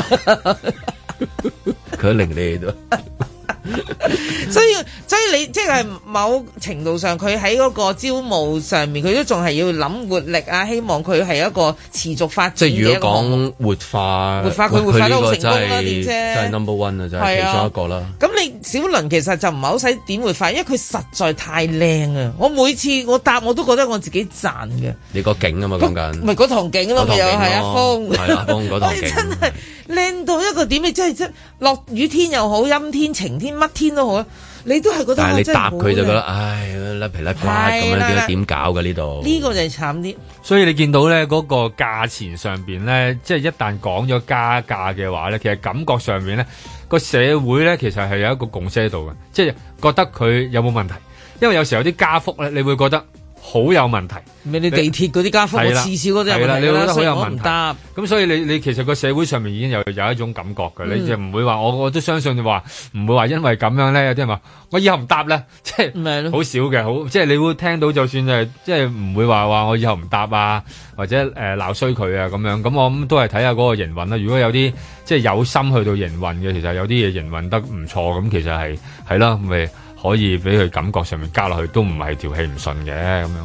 佢都令你哋都。 所以你即係某程度上，佢喺嗰個招募上面，佢都仲係要諗活力啊！希望佢係一個持續發展嘅一個。即係如果講活化佢活化得好成功啦，電車真係 number one 啊，就係其中一個啦。咁你小輪其實就唔係好使點活化，因為佢實在太靚啊！我每次我搭我都覺得我自己賺嘅。你個景啊嘛，講緊咪嗰堂景咯，咪又係阿峰，係阿峰嗰堂景，真係靚到一個點，你真係落雨天又好，陰天晴天乜天都好啊！你都係覺得，但係你搭佢就覺得，唉，甩皮甩骨咁樣點搞嘅呢度？呢個就係慘啲。所以你見到咧嗰個價錢上邊咧，即係一旦講咗加價嘅話咧，其實感覺上面咧個社會咧其實係有一個共識喺度嘅，即係覺得佢有冇問題。因為有時候有啲加幅咧，你會覺得好有問題。咩？你地鐵嗰啲加幅，我次次嗰啲有問題啦，你覺得好有問題。咁所以你其實個社會上面已經有一種感覺嘅，你就唔會話我都相信你話唔會話因為咁樣咧，有啲人話我以後唔搭咧，即係好少嘅，好即係你會聽到就算係即係唔會話我以後唔搭啊，或者鬧衰佢啊咁樣。咁我諗都係睇下嗰個營運啦。如果有啲即係有心去到營運嘅，其實有啲嘢營運得唔錯，咁其實係啦，咪可以俾佢感覺上面加落去，都唔係條氣唔順嘅咁樣。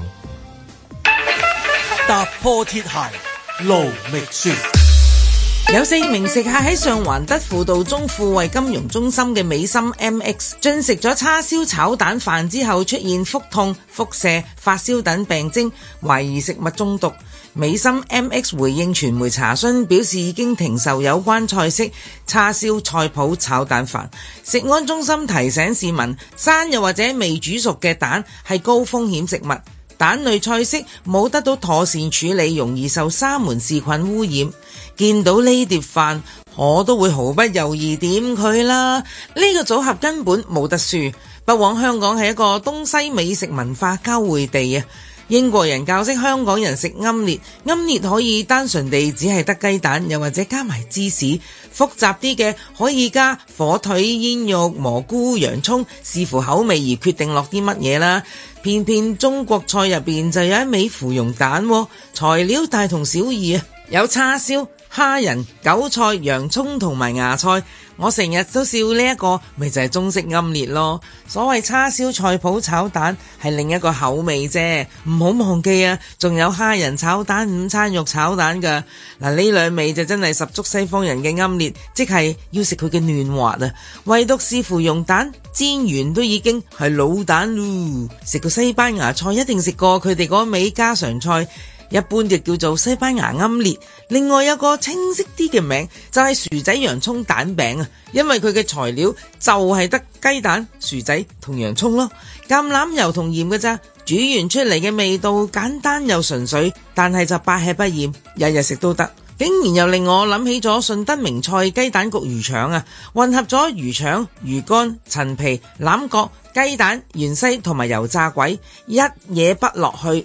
踏破鐵鞋路未雪， 有4名食客喺上環德輔道中富衛金融中心嘅美心 MX 進食咗叉燒炒蛋飯之後，出現腹痛、腹瀉、發燒等病徵，懷疑食物中毒。美心 MX 回應傳媒查詢，表示已經停售有關菜式叉燒菜脯炒蛋飯。食安中心提醒市民，生又或者未煮熟嘅蛋係高風險食物。蛋類菜式冇得到妥善處理，容易受沙門氏菌污染。見到呢碟飯，我都會毫不猶豫點佢啦。呢個組合根本冇得輸。不枉香港係一個東西美食文化交匯地啊！英國人教識香港人食奄列，奄列可以單純地只係得雞蛋，又或者加埋芝士。複雜啲嘅可以加火腿、煙肉、蘑菇、洋蔥，視乎口味而決定落啲乜嘢啦。偏偏中國菜入邊就有一味芙蓉蛋喎，材料大同小異啊，有叉燒、蝦仁、韭菜、洋蔥同埋芽菜。我成日都笑呢一個咪就係中式奄列咯。所謂叉燒菜脯炒蛋係另一個口味啫，唔好忘記啊，仲有蝦仁炒蛋、午餐肉炒蛋噶。嗱，呢兩味就真係十足西方人嘅奄列，即係要食佢嘅嫩滑啊。唯獨是芙蓉蛋煎完都已經係老蛋咯。食過西班牙菜一定食過佢哋嗰味家常菜，一般就叫做西班牙奄列。另外有個清晰啲嘅名就係薯仔洋蔥蛋餅啊，因為佢嘅材料就係得雞蛋、薯仔同洋蔥咯，橄欖油同鹽嘅咋，煮完出嚟嘅味道簡單又純粹，但係就百吃不厭，日日食都得。竟然又令我諗起咗順德名菜雞蛋焗魚腸啊，混合咗魚腸、魚乾、陳皮、欖角、雞蛋、芫茜同埋油炸鬼，一嘢畢落去。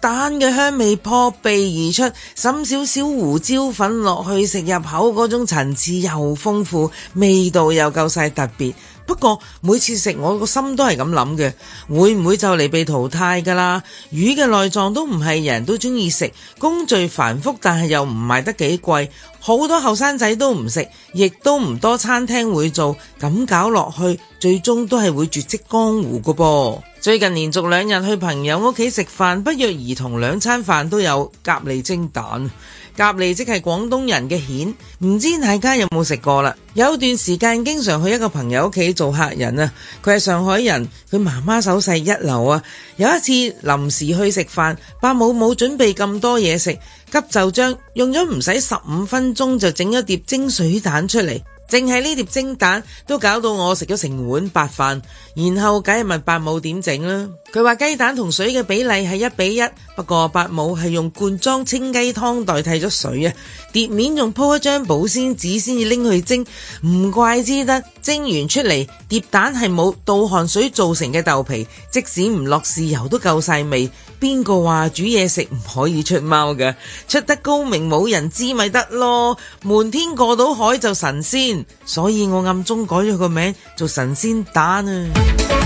蛋嘅香味撲鼻而出，滲少少胡椒粉落去，食入口嗰種層次又豐富，味道又夠晒特別。不過每次食我個心都係咁諗嘅，會唔會就嚟被淘汰㗎啦？魚嘅內臟都唔係人人都中意食，工序繁複，但係又唔賣得幾貴，好多後生仔都唔食，亦都唔多餐廳會做，咁搞落去最終都係會絕跡江湖㗎噃。最近連續2日去朋友屋企食飯，不約而同2餐飯都有蛤蜊蒸蛋。蛤蜊即係廣東人嘅蜆，唔知大家有冇食過啦？有段時間經常去一個朋友屋企做客人啊，佢係上海人，佢媽媽手勢一流啊。有一次臨時去食飯，伯母冇準備咁多嘢食，急就章，用咗唔使15分鐘就整一碟蒸水蛋出嚟。淨係呢碟蒸蛋都搞到我食咗成碗白飯，然後梗係問伯母點整啦。佢話雞蛋同水嘅比例係1:1，不過伯母係用罐裝清雞湯代替咗水啊。碟面仲鋪一張保鮮紙先至拎去蒸，唔怪之得蒸完出嚟碟蛋係冇倒汗水造成嘅豆皮，即使唔落豉油都夠晒味。邊個話煮嘢食唔可以出貓㗎？出得高明冇人知咪得咯，瞞天過到海就神仙，所以我暗中改咗個名做神仙蛋啊。